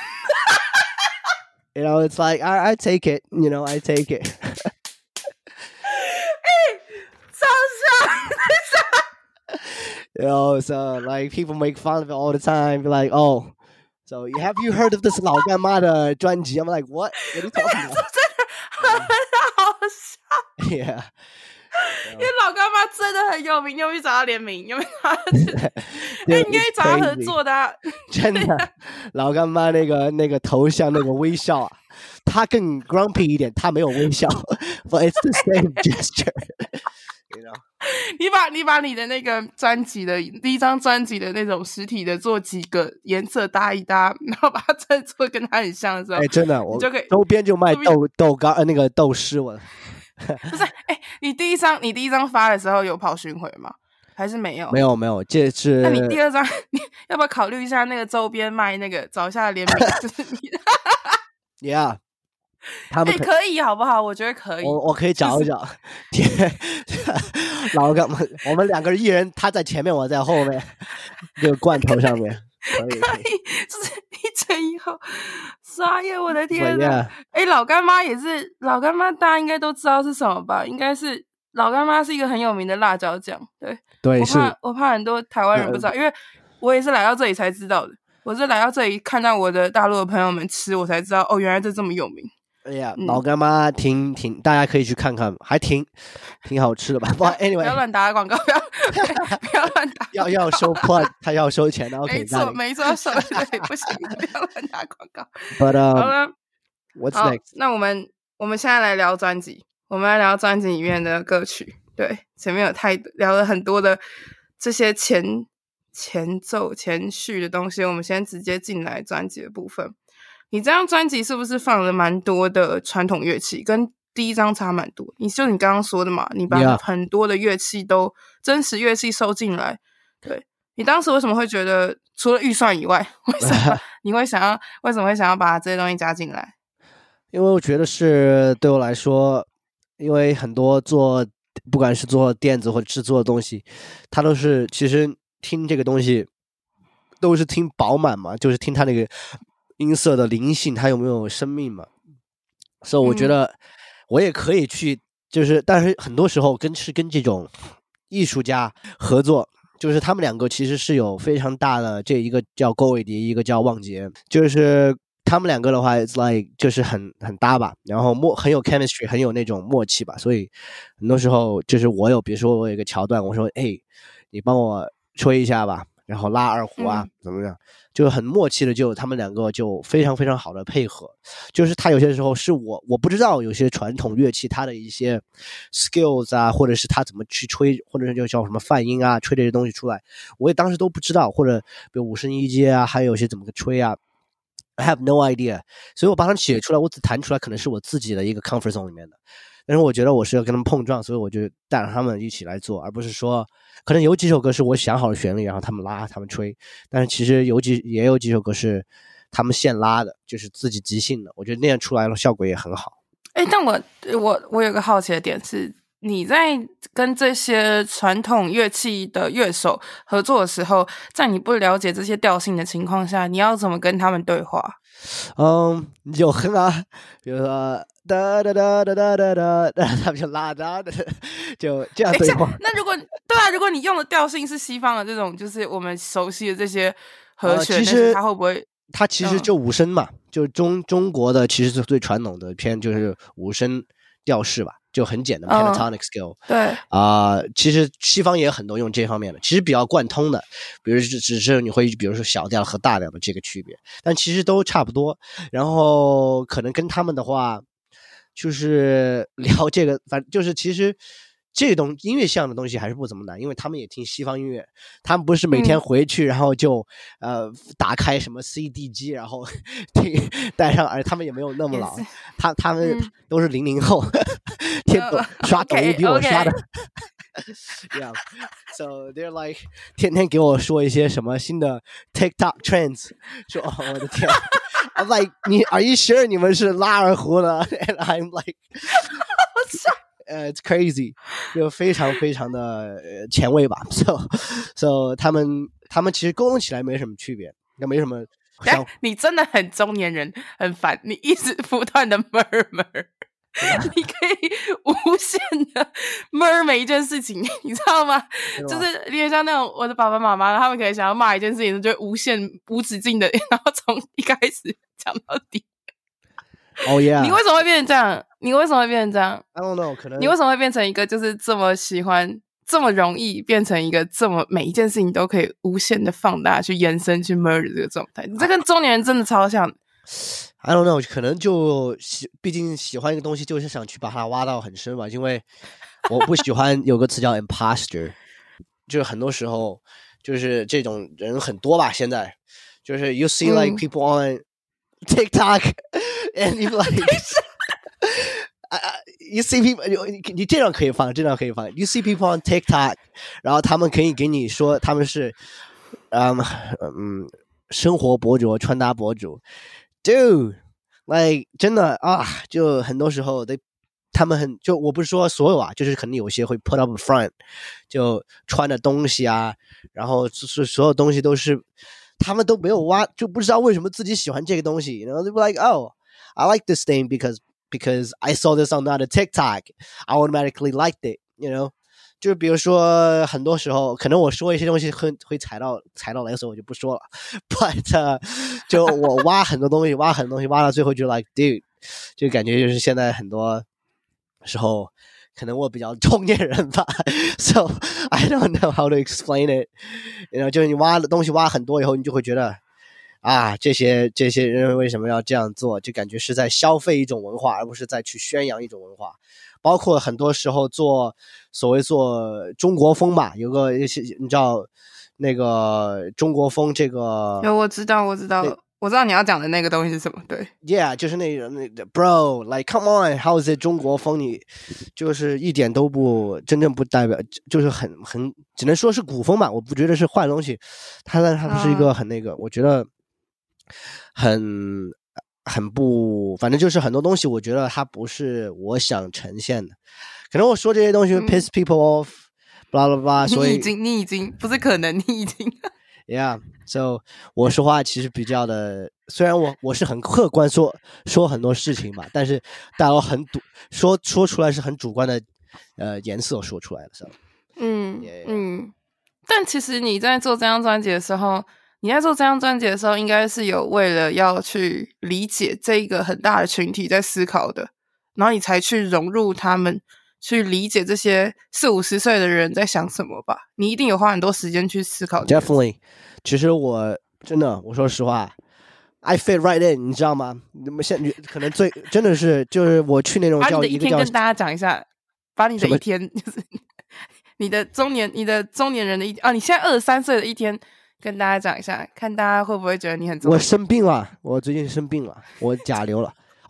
Speaker 2: you know it's like I take it，you know，I take it。
Speaker 1: 超像。
Speaker 2: You know, so like people make fun of it all the time, be like, oh。So have you heard of this 老乾媽的專輯 ？I'm like, what? What are you talking about?
Speaker 1: 真的很好笑。
Speaker 2: Yeah，
Speaker 1: 因為老乾媽真的很有名，有沒有找他聯名？有沒有找他？你可以找他合作的啊。
Speaker 2: 真的，老乾媽那個頭像那個微笑啊，他更 grumpy 一點，他沒有微笑，but it's the same gesture。You know？
Speaker 1: 你把你的那個專輯的第1張專輯的那種實體的做幾個顏色搭一搭，然後把它再做跟它很像的時候，
Speaker 2: 真的，我
Speaker 1: 就可以
Speaker 2: 周邊就賣豆乾那個豆絲我。
Speaker 1: 不是，你第一張發的時候有跑巡迴嗎？還是沒有？
Speaker 2: 沒有，這是。
Speaker 1: 那你第2張，你要不要考慮一下那個周邊賣那個找一下聯名，就是你的。
Speaker 2: Yeah。他們
Speaker 1: 可以好不好？我覺得可以。
Speaker 2: 我可以找一找。老乾媽，我們2個一人，他在前面，我在後面，這個罐頭上面。可以，
Speaker 1: 就是1前1後。傻眼，我的天哪！老乾媽也是，老乾媽大家應該都知道是什麼吧？應該是老乾媽是一個很有名的辣椒醬。對，我怕很多台灣人不知道，因為我也是來到這裡才知道的。我是來到這裡看到我的大陸的朋友們吃，我才知道原來這麼有名。
Speaker 2: 老乾媽挺，大家可以去看看，還挺好吃的吧。Anyway，
Speaker 1: 不要亂打廣告，不要亂打。
Speaker 2: 要收 plug， 他要收錢的。
Speaker 1: 沒錯，要收對，不行，不要亂打廣告。
Speaker 2: But
Speaker 1: 好了
Speaker 2: ，What's next？
Speaker 1: 那我們現在來聊專輯，我們來聊專輯裡面的歌曲。對，前面聊了很多的這些前奏、前序的東西，我們先直接進來專輯的部分。你這張專輯是不是放了蠻多的傳統樂器，跟第1張差蠻多？你剛剛說的嘛，你把很多的樂器都真實樂器收進來。對，你當時為什麼會覺得，除了預算以外，為什麼會想要把這些東西加進來？
Speaker 2: 因為我覺得是對我來說，因為很多不管是做電子或者製作的東西，它都是其實聽這個東西都是聽飽滿嘛，就是聽它那個音色的靈性，它有沒有生命嘛。所以我覺得我也可以去，但是很多時候跟這種藝術家合作，就是他們2個其實是有非常大的，這一個叫郭偉迪，一個叫旺杰，就是他們2個的話 it's like 就是很搭吧，然後很有 chemistry， 很有那種默契吧。所以很多時候就是比如說我有一個橋段，我說你幫我吹一下吧，然後拉二胡啊，怎麼樣，就很默契的，就他們2個就非常非常好的配合。就是他有些時候是我不知道有些傳統樂器它的一些 skills 啊，或者是他怎麼去吹，或者是就叫什麼泛音啊，吹這些東西出來，我也當時都不知道，或者比如5聲1階啊，還有些怎麼個吹啊， I have no idea。 所以我把它寫出來，我只彈出來可能是我自己的一個 comfort zone 裡面的， 但是我覺得我是要跟他們碰撞，所以我就帶着他們一起來做，而不是說可能有幾首歌是我想好了旋律，然後他們拉他們吹，但是其實也有幾首歌是他們現拉的，就是自己即興的，我覺得那樣出來了效果也很好。
Speaker 1: 但我有個好奇的點是，你在跟這些傳統樂器的樂手合作的時候，在你不了解這些調性的情況下，你要怎麼跟他們對話？
Speaker 2: 有哼啊，比如說噠噠噠噠噠噠噠，他们就拉噠噠，就這樣對話。
Speaker 1: 那如果你用的調性是西方的這種，就是我們熟悉的這些和弦，
Speaker 2: 其實
Speaker 1: 它會不會？
Speaker 2: 它其實就五聲嘛，就中國的其實是最傳統的偏就是五聲調式吧，就很簡單 pentatonic scale。
Speaker 1: 對
Speaker 2: 其實西方也有很多用這方面的，其實比較貫通的，比如只是你會比如說小調和大調的這個區別，但其實都差不多。然後可能跟他們的話，就是聊這個，反正就是其實。這種音樂項的東西還是不怎麼難，因為他們也聽西方音樂，他們不是每天回去然後就打開什麼 CD 機然後帶上耳，他們也沒有那麼老，他們都是00後，刷抖音比我刷的，yeah， so they're like 天天給我說一些什麼新的 TikTok trends， 說我的天，I'm like are you sure 你們是拉二胡的 ？And I'm like it's crazy， 就非常非常的前衛吧。So 他們其實溝通起來沒什麼區別，也沒什麼。
Speaker 1: 你真的很中年人，很煩，你一直不斷的 murmur， 你可以無限的 murmur 每一件事情，你知道嗎？就是有點像那種我的爸爸媽媽，他們可能想要罵一件事情，就會無限無止境的，然後從一開始講到底。
Speaker 2: Oh yeah！
Speaker 1: 你為什麼會變成這樣？你為什麼會變成這樣
Speaker 2: ？I don't know， 可能
Speaker 1: 你為什麼會變成一個就是這麼喜歡、這麼容易變成一個這麼每一件事情都可以無限的放大、去延伸、去 murder 這個狀態？你這跟中年人真的超像。
Speaker 2: I don't know， 可能就畢竟喜歡一個東西，就是想去把它挖到很深吧。因為我不喜歡有個詞叫 imposter， 就是很多時候就是這種人很多吧。現在就是 you see like people on TikTok and you like you see people 你這樣可以放，這樣可以放。You see people on TikTok， 然後他們可以給你說他們是生活博主、穿搭博主。Dude， like 真的啊，就很多時候他們就我不是說所有啊，就是可能有些會 put up front， 就穿的東西啊，然後是所有東西都是他們都沒有挖，就不知道為什麼自己喜歡這個東西。You know, they were like, oh, I like this thing because I saw this on the TikTok, I automatically liked it. You know， 就比如說很多時候可能我說一些東西會踩到雷，所以我就不說了。But 就我挖很多東西，挖到最後就 like dude， 就感覺就是現在很多時候可能我比較中年人吧。So I don't know how to explain it。然後就是你挖的東西挖很多以後，你就會覺得啊，這些人為什麼要這樣做？就感覺是在消費一種文化，而不是在去宣揚一種文化。包括很多時候做中國風吧，有個你知道那個中國風這個，
Speaker 1: 有我知道你要講的那個東西是什麼？對
Speaker 2: ，Yeah， 就是那個 Bro，like come on，how is it 中國風？你就是一點都不真正不代表，就是很只能說是古風吧。我不覺得是壞東西，它不是一個很那個，我覺得很不，反正就是很多東西，我覺得它不是我想呈現的。可能我說這些東西會 piss people off，blah blah blah，所以
Speaker 1: 你已經不是可能，你已經
Speaker 2: ，Yeah，so 我說話其實比較的，雖然我是很客觀說很多事情吧，但是大家很說出來是很主觀的顏色說出來的時候，
Speaker 1: 但其實你在做這張專輯的時候。應該是有為了要去理解這一個很大的群體在思考的，然後你才去融入他們，去理解這些40-50歲的人在想什麼吧？你一定有花很多時間去思考。
Speaker 2: Definitely， 其實我說實話 ，I fit right in， 你知道嗎？你們現在可能真的是就是我去那種叫一個叫，
Speaker 1: 跟大家講一下，把你的一天就是你的中年人的你現在23歲的一天。跟大家講一下，看大家會不會覺得你很重要。
Speaker 2: 我生病了，我最近生病了，我甲流了。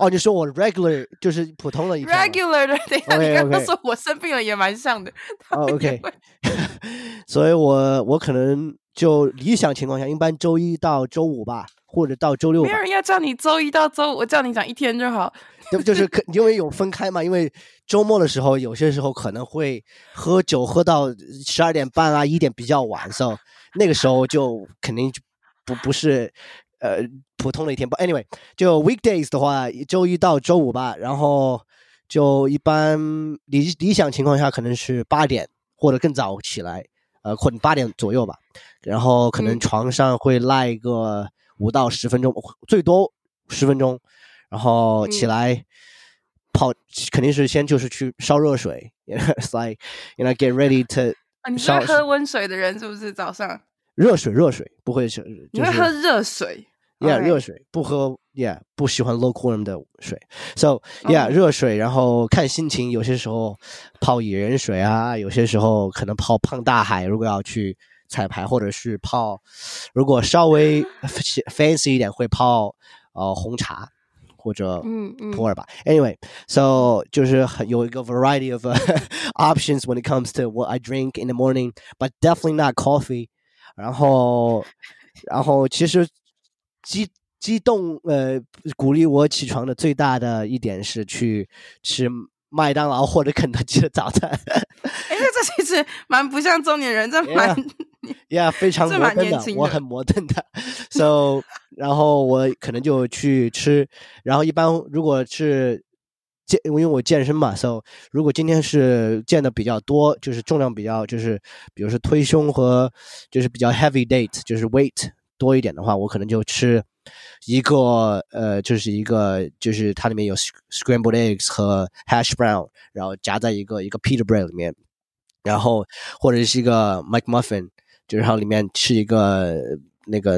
Speaker 2: 哦，你說我 regular 就是普通的一天
Speaker 1: regular 的，等一下
Speaker 2: okay,
Speaker 1: 你剛剛說我生病了也蠻像的。
Speaker 2: OK， 所以我可能就理想情況下，一般周一到周五吧，或者到周六吧。
Speaker 1: 沒有人要叫你周一到周五，我叫你講一天就好。
Speaker 2: 就是因為有分開嘛，因為周末的時候，有些時候可能會喝酒喝到12點半啊1點比較晚，所以那個時候就肯定就不是普通的一天。But anyway， 就 weekdays 的話，周一到周五吧，然後就一般理想情況下可能是8點或者更早起來，或者8點左右吧，然後可能床上會賴個5到10分鐘，最多10分鐘。然後起來泡，肯定是先就是去燒熱水，It's like get ready to。
Speaker 1: 你是會喝溫水的人是不是？早上
Speaker 2: 熱水不會是，
Speaker 1: 你會喝熱水
Speaker 2: ？Yeah， 熱水不喝 ，Yeah， 不喜歡 low quality 的水 ，So yeah， 熱水，然後看心情，有些時候泡野人水啊，有些時候可能泡胖大海，如果要去彩排，或者是泡，如果稍微 fancy 一點會泡紅茶。或者普洱吧。Anyway, so 就是有一個 variety of options when it comes to what I drink in the morning, but definitely not coffee. 然後其實激動鼓勵我起床的最大的一點是去吃麥當勞或者肯德基的早餐。
Speaker 1: 這其實蠻不像中年人，這蠻
Speaker 2: Yeah， 非常摩登的，我很摩登的。So， 然後我可能就去吃，然後一般如果是因為我健身嘛 ，So 如果今天是健的比較多，就是重量比較就是比如說推胸和就是比較 heavy date， 就是 weight 多一點的話，我可能就吃一個就是它裡面有 scrambled eggs 和 hash brown， 然後夾在一個 pita bread 裡面，然後或者是一個 McMuffin。就是然後裡面吃一個那個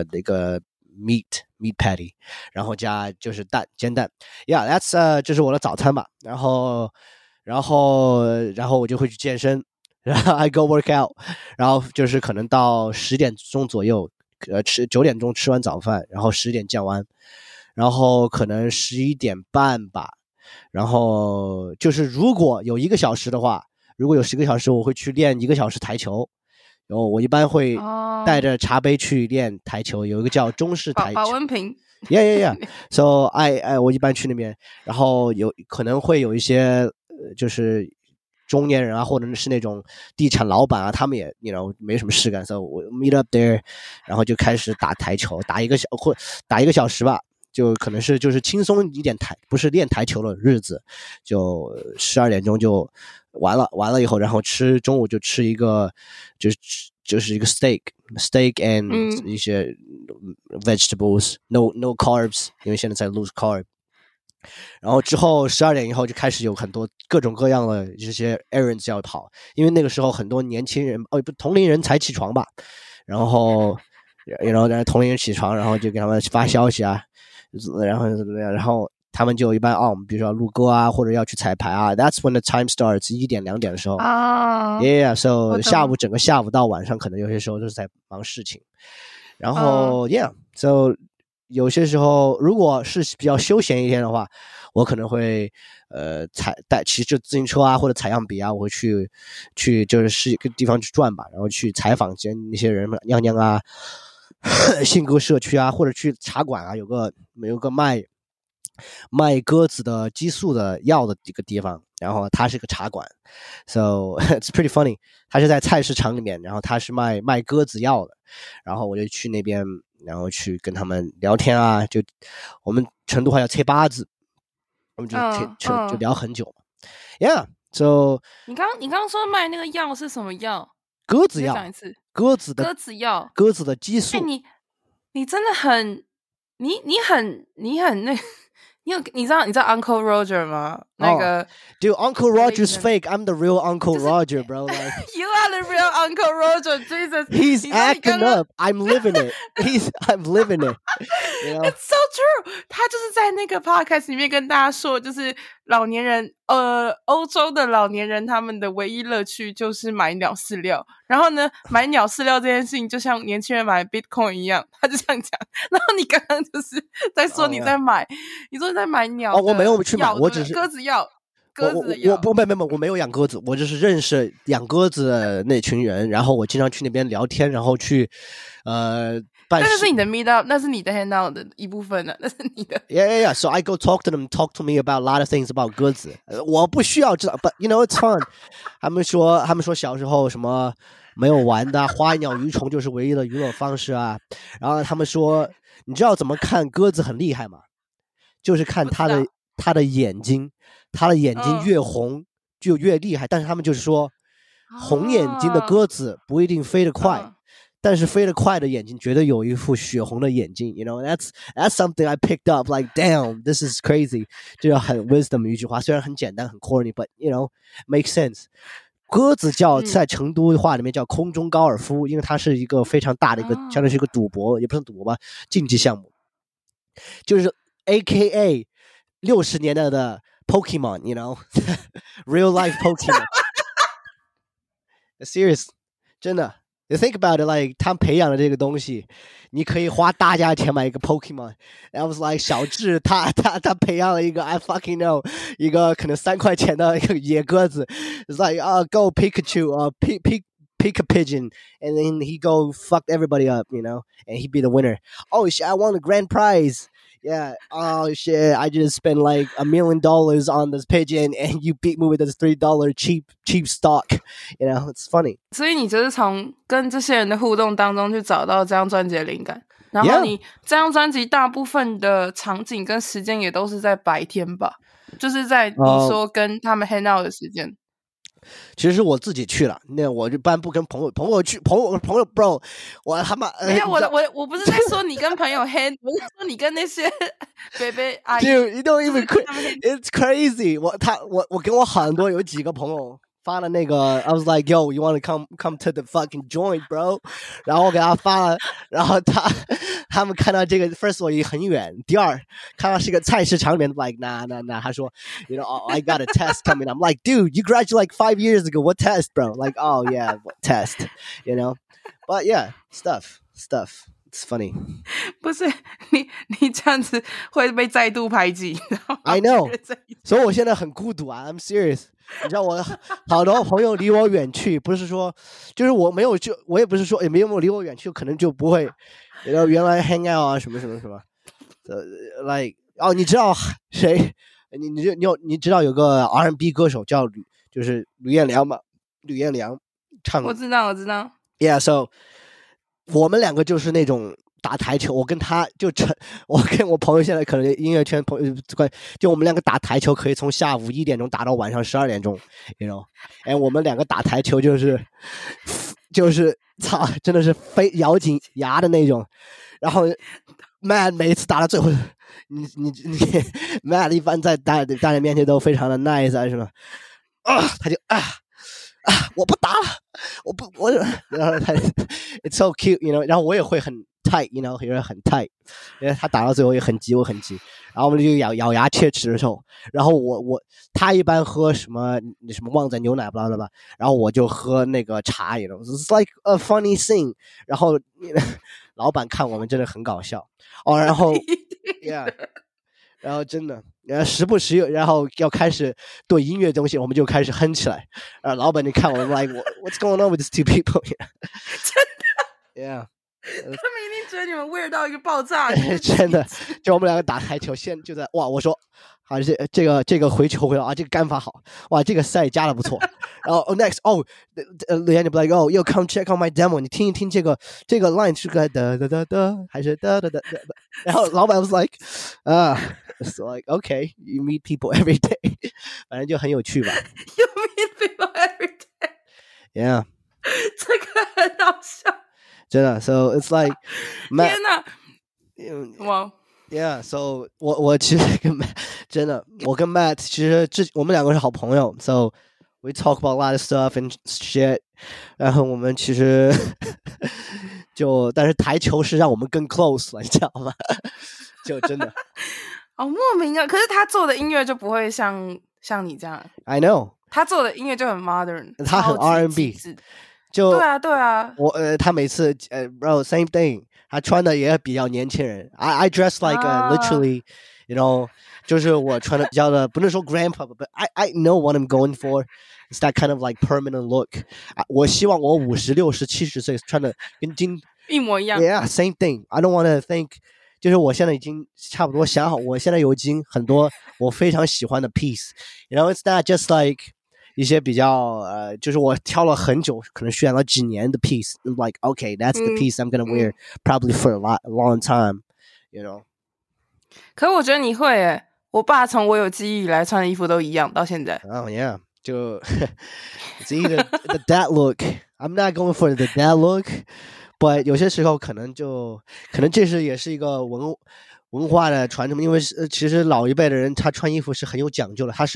Speaker 2: meat patty， 然後加就是煎蛋 ，Yeah， that's 這是我的早餐吧。然後我就會去健身，然後 I go work out， 然後就是可能到10點鐘左右，9點鐘吃完早飯，然後10點健完，然後可能11點半吧。然後就是如果有1個小時的話，如果有10個小時，我會去練1個小時台球。然後我一般會帶着茶杯去練台球，有一個叫中式台球。
Speaker 1: 保溫瓶。
Speaker 2: Yeah. So我一般去那邊，然後可能會有一些就是中年人啊，或者是那種地產老闆啊，他們也沒什麼事幹，所以我 meet up there， 然後就開始打台球，打一個小時吧，就可能是就是輕鬆一點不是練台球的日子，就12點鐘就完了以後，然後中午就吃一個就是一個 steak and 一些 vegetables， no carbs， 因為現在在 lose carb。然後之後12點以後就開始有很多各種各樣的這些 errands 要跑，因為那個時候很多年輕人同齡人才起床吧，然後同齡人起床，然後就給他們發消息啊，然後他們就一般比如說要錄歌啊，或者要去彩排啊。That's when the time starts， 1點2點的時候。Yeah， so 整個下午到晚上，可能有些時候都是在忙事情。然後Yeah，so 有些時候如果是比較休閒一天的話，我可能會騎着自行車啊，或者採樣筆啊，我會去就是一個地方去轉吧，然後去採訪那些人娘娘啊，信鴿社區啊，或者去茶館啊，有個賣鴿子的激素的藥的一個地方，然後它是個茶館 ，so it's pretty funny。它是在菜市場裡面，然後它是賣鴿子藥的，然後我就去那邊，然後去跟他們聊天啊，就我們成都話叫切巴子，我們就聊很久。Yeah，so
Speaker 1: 你剛說賣那個藥是什麼藥？
Speaker 2: 鴿子藥，
Speaker 1: 講一次。
Speaker 2: 鴿子藥，鴿子的激素。
Speaker 1: 你真的很，你很那。你知道 Uncle Roger 嗎？那個
Speaker 2: Dude, Uncle Roger's fake. I'm the real Uncle Roger, bro. Like,
Speaker 1: you are the real Uncle Roger. Jesus,
Speaker 2: he's acting up. I'm living it. I'm living it.
Speaker 1: It's so true。他就是在那個 podcast 裡面跟大家說，就是老年人，歐洲的老年人他們的唯一樂趣就是買鳥飼料。然後呢，買鳥飼料這件事情就像年輕人買 Bitcoin 一樣，他就這樣講。然後你剛剛就是在說你在買，你說你在買鳥。
Speaker 2: 我沒有去買，我只是
Speaker 1: 鴿子藥。
Speaker 2: 我沒有養鴿子，我就是認識養鴿子的那群人，然後我經常去那邊聊天，然後去辦事。
Speaker 1: 那是你的 meet up， 那是你的 hang out 的一部分呢，那是你的。
Speaker 2: Yeah. So I go talk to them, talk to me about a lot of things about 鴿子。我不需要知道 ，but you know it's fun 他們說小時候什麼沒有玩的，花鳥魚蟲就是唯一的娛樂方式啊。然後他們說，你知道怎麼看鴿子很厲害嗎？就是看它的眼睛。他的眼睛越紅就越厲害，但是他們就是說，紅眼睛的鴿子不一定飛得快，但是飛得快的眼睛絕對有一副血紅的眼睛。You know, that's something I picked up. Like, damn, this is crazy. 這個很 wisdom 一句話，雖然很簡單很 corny, but you know, makes sense. 鴿子叫在成都話裡面叫空中高爾夫，因為它是一個非常大的一個，相當於是一個賭博，也不是賭博吧，競技項目，就是 AKA 60年代的。Pokemon, you know, real life Pokemon. Serious, 真的。You think about it, like 他培養的這個東西，你可以花大價錢買一個 Pokemon. I was like 小智他培養了一個 I fucking know 一個可能3塊錢的一個野鴿子。It's like go Pikachu, pick a pigeon, and then he go fuck everybody up, you know, and he be the winner. Oh shit, I won a grand prize.Yeah, oh shit, I just spent like $1 million on this pigeon and you beat me with this $3 cheap stock. You know, it's funny.
Speaker 1: 所以你就是從跟這些人的互動當中去找到這張專輯的靈感。然後你這張專輯大部分的場景跟時間也都是在白天吧？就是在你說跟他們 hang out 的時間。
Speaker 2: 其實我自己去了，那我一般不跟朋友去，朋友 bro， 我他媽
Speaker 1: 沒有我不是在說你跟朋友 hang， 我是說你跟那些baby 阿姨。
Speaker 2: Dude, you don't even it's crazy. 我跟我很多有幾個朋友發了那個 I was like yo, you want to come to the fucking joint, bro？ 然後我給他發了，然後他們看到這個 first of all 也很遠，第二看到是個菜市場裡面 like nah 他說 you know I got a test coming. I'm like dude, you graduated like 5 years ago. What test, bro? Like oh yeah, what test? You know, but yeah, stuff. It's funny.
Speaker 1: 不是你這樣子會被再度排擠。
Speaker 2: I know. 所以我現在很孤獨啊。I'm serious. 你知道我好多朋友離我遠去，不是說就是我也不是說也沒有離我遠去，可能就不會。然後原來 hang out 啊什麼，like 你知道誰？你知道有個 R&B 歌手叫就是呂彥良嘛？呂彥良唱。
Speaker 1: 我知道。
Speaker 2: Yeah, so 我們兩個就是那種打台球，我跟我朋友現在可能音樂圈朋友就我們兩個打台球可以從下午1點鐘打到晚上12點鐘 ，you know， 哎，我們兩個打台球就是操，真的是非咬緊牙的那種。然後 Matt 每一次打到最後，你 Matt 一般在大人面前都非常的 nice 啊什麼他就我不打了，然後他 it's so cute, you know， 然後我也會很 tight, you know， 也是很 tight， 因為他打到最後也很急，我很急，然後我們就咬牙切齒的時候，然後他一般喝什麼旺仔牛奶blah blah blah，然後我就喝那個茶 you know， it's like a funny thing， 然後老闆看我們真的很搞笑然後 yeah， 然後真的時不時然後要開始對音樂東西我們就開始哼起來，老闆就看我們 like what's going on with these two people
Speaker 1: 真的
Speaker 2: yeah，
Speaker 1: 他們一定覺得你們 weird 到一個爆炸
Speaker 2: 真的就我們兩個打台球現就在哇我說好這個回球回來這個桿法好哇這個賽加的不錯然後next Leanne be like yo come check out my demo 你聽一聽這個 line 是個噠噠噠噠還是噠噠噠然後老闆 was like it's like okay you meet people every day 反正就很有趣吧
Speaker 1: you meet people every day
Speaker 2: yeah
Speaker 1: 這個很好笑
Speaker 2: 真的 so it's like
Speaker 1: 天哪哇
Speaker 2: Yeah, so 我其實跟 Matt 真的，我跟 Matt 其實我們兩個是好朋友 ，so we talk about a lot of stuff and shit。然後我們其實但是台球是讓我們更 close 了，你知道嗎？就真的
Speaker 1: 好莫名啊！可是他做的音樂就不會像你這樣。
Speaker 2: I know，
Speaker 1: 他做的音樂就很 modern，
Speaker 2: 他很 R&B， 就
Speaker 1: 对啊。
Speaker 2: 他每次bro same thing， 他穿的也比較年輕人。I dress like literally， you know， 就是我穿的比較的，不能說 grandpa，but I know what I'm going for。It's that kind of like permanent look。我希望我50、60、70岁穿的跟
Speaker 1: 一模一樣。
Speaker 2: Yeah, same thing. I don't want to think。就是我現在已經差不多想好，我現在已經很多我非常喜歡的 piece。You know, it's not just like 一些比較就是我挑了很久，可能選了幾年的 piece。Like, okay, that's the piece I'm gonna wear probably for a long time. You know.
Speaker 1: 可我覺得你會耶，我爸從我有記憶以來穿的衣服都一樣，到現在。
Speaker 2: Oh yeah， 就 it's either the dad look. I'm not going for the dad look。But 有些時候可能這是也是一個文化的傳承，因為其實老一輩的人他穿衣服是很有講究的，他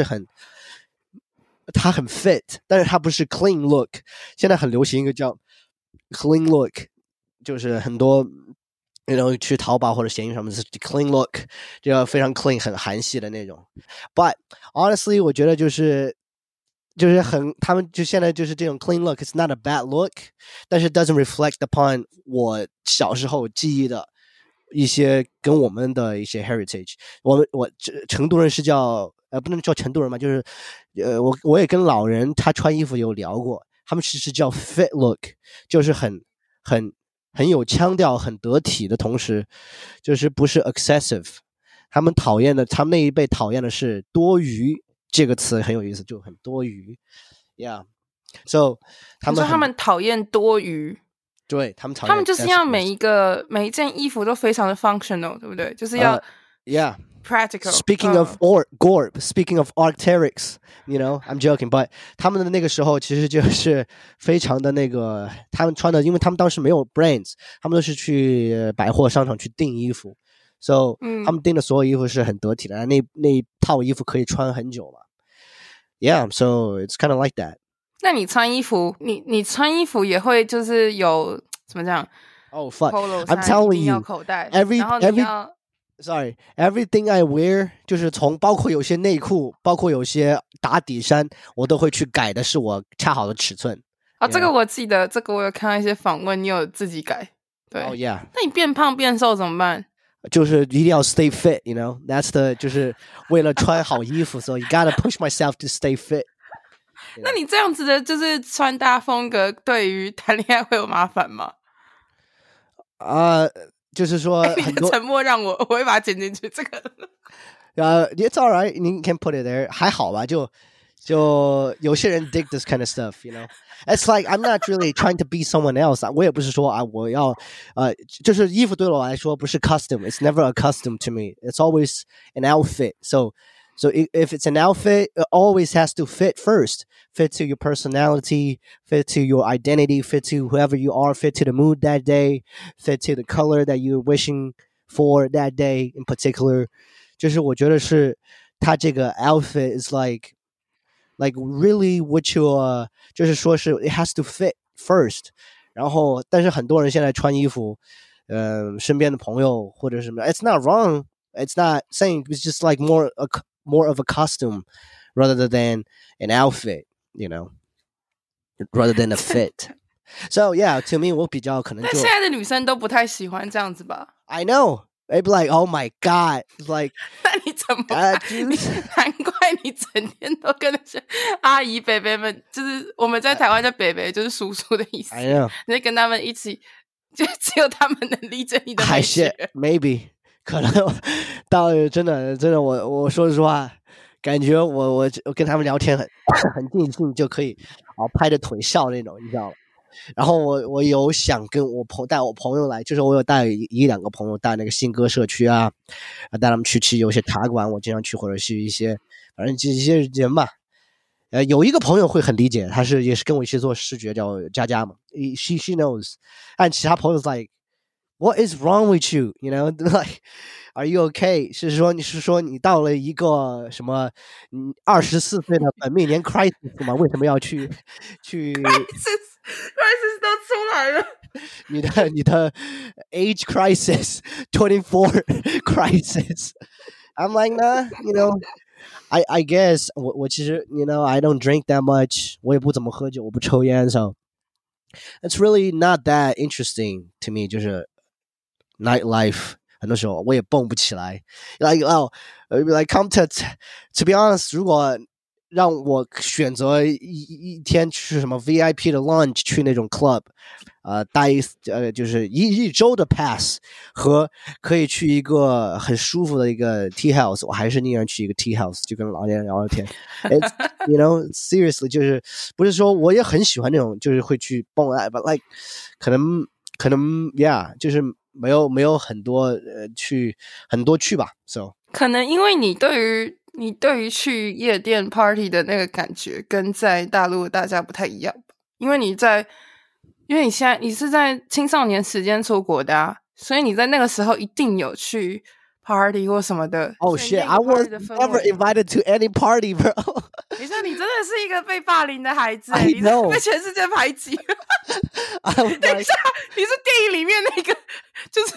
Speaker 2: 很 fit， 但是他不是 clean look。現在很流行一個叫 clean look， 就是很多 you know 去淘寶或者閒魚上面是 clean look， 這個非常 clean 很韓系的那種。But honestly 我覺得就是他們就現在就是這種 clean look it's not a bad look， 但是 doesn't reflect upon 我小時候記憶的一些跟我們的一些 heritage。我成都人是叫不能叫成都人嘛，就是我也跟老人他穿衣服有聊過，他们其實叫 fit look， 就是很有腔調很得體的同時就是不是 excessive。他們那一輩討厭的是多餘，這個詞很有意思，就很多餘 ，Yeah， so 他們
Speaker 1: 討厭多餘，
Speaker 2: 對他們討厭，
Speaker 1: 他們就是要每一件衣服都非常的 functional， 對不對？就是要
Speaker 2: Yeah
Speaker 1: practical。
Speaker 2: Speaking of Gorb, speaking of Arc'teryx, you know, I'm joking, but 他們的那個時候其實就是非常的那個，他們穿的，因為他們當時沒有 brands， 他們都是去百貨商場去訂衣服。So，他們訂的所有衣服是很得體的，那一套衣服可以穿很久嘛。Yeah, so it's kind of like that.
Speaker 1: 那你穿衣服，你穿衣服也會就是有怎麼講
Speaker 2: ？Oh fuck! I'm telling you, everything I wear 就是包括有些內褲，包括有些打底衫，我都會去改的是我恰好的尺寸。
Speaker 1: 這個我記得，這個我有看到一些訪問，你有自己改。對。
Speaker 2: Oh yeah.
Speaker 1: 那你變胖變瘦怎麼辦？
Speaker 2: 就是一定要 stay fit, you know. That's the 就是為了穿好衣服，so you gotta push myself to stay fit.
Speaker 1: 那你這樣子的就是穿搭風格，對於談戀愛會有麻煩嗎？
Speaker 2: 就是說很多
Speaker 1: 你的沉默讓我會把它剪進去。這個
Speaker 2: it's alright, you can put it there. 還好吧，就有些人 dig this kind of stuff, you know. It's like I'm not really trying to be someone else. 我也不是說我要就是衣服對我來說不是 custom. It's never a custom to me. It's always an outfit. So if it's an outfit, it always has to fit first. Fit to your personality, fit to your identity, fit to whoever you are, fit to the mood that day, fit to the color that you're wishing for that day in particular. 就是我覺得是它這個 outfit is like really what you 就是說是 it has to fit first。 然後但是很多人現在穿衣服身邊的朋友或者什麼 it's not wrong, it's not saying, it's just like more of a costume rather than an outfit, you know, rather than a fit. So yeah, to me 我比較可能就
Speaker 1: 但現在的女生都不太喜歡這樣子吧。
Speaker 2: I know, they'd be like, oh my god, like
Speaker 1: 那你怎麼辦？難怪你整天都跟那些阿姨伯伯們，就是我們在台灣叫伯伯就是叔叔的意思。
Speaker 2: I know.
Speaker 1: 你跟他們一起，就只有他們能理解你的美學。
Speaker 2: Maybe 可能到真的我說實話，感覺我跟他們聊天很盡興，就可以拍着腿笑那種，你知道嗎？然後我有想跟帶我朋友來，就是我有帶一兩個朋友帶那個新歌社區啊，帶他們去有些茶館，我經常去，或者是一些反正一些人吧。有一個朋友會很理解，他也是跟我一起做視覺，叫佳佳嘛。She knows， 但其他朋友 like what is wrong with you? You know, like are you okay? 是說你到了一個什麼24歲的本命年 crisis 嗎？為什麼要去crisis
Speaker 1: 都出來了。
Speaker 2: 你的 age crisis 24 crisis I'm like nah you know I guess 我其實 you know I don't drink that much 我也不怎麼喝酒我不抽煙 so it's really not that interesting to me 就是 nightlife 很多時候我也蹦不起來 like come to be honest 如果讓我選擇一天去什麼 VIP 的 lunch 去那種 club 待就是一周的 pass 和可以去一個很舒服的一個 tea house 我還是寧願去一個 tea house 就跟老年人聊聊天 It's, you know seriously 就是不是說我也很喜歡那種就是會去蹦but like 可能 yeah 就是沒有很多去吧 so
Speaker 1: 可能因為你對於去夜店 party 的那個感覺跟在大陸大家不太一樣吧，因為你現在你是在青少年時間出國的啊，所以你在那個時候一定有去 party 或什麼的。
Speaker 2: Oh shit, I was never invited to any party, bro.
Speaker 1: 你說你真的是一個被霸凌的孩子，
Speaker 2: I know.
Speaker 1: 你是被全世界排擠。
Speaker 2: like,
Speaker 1: 等一下，你是電影裡面那個，就是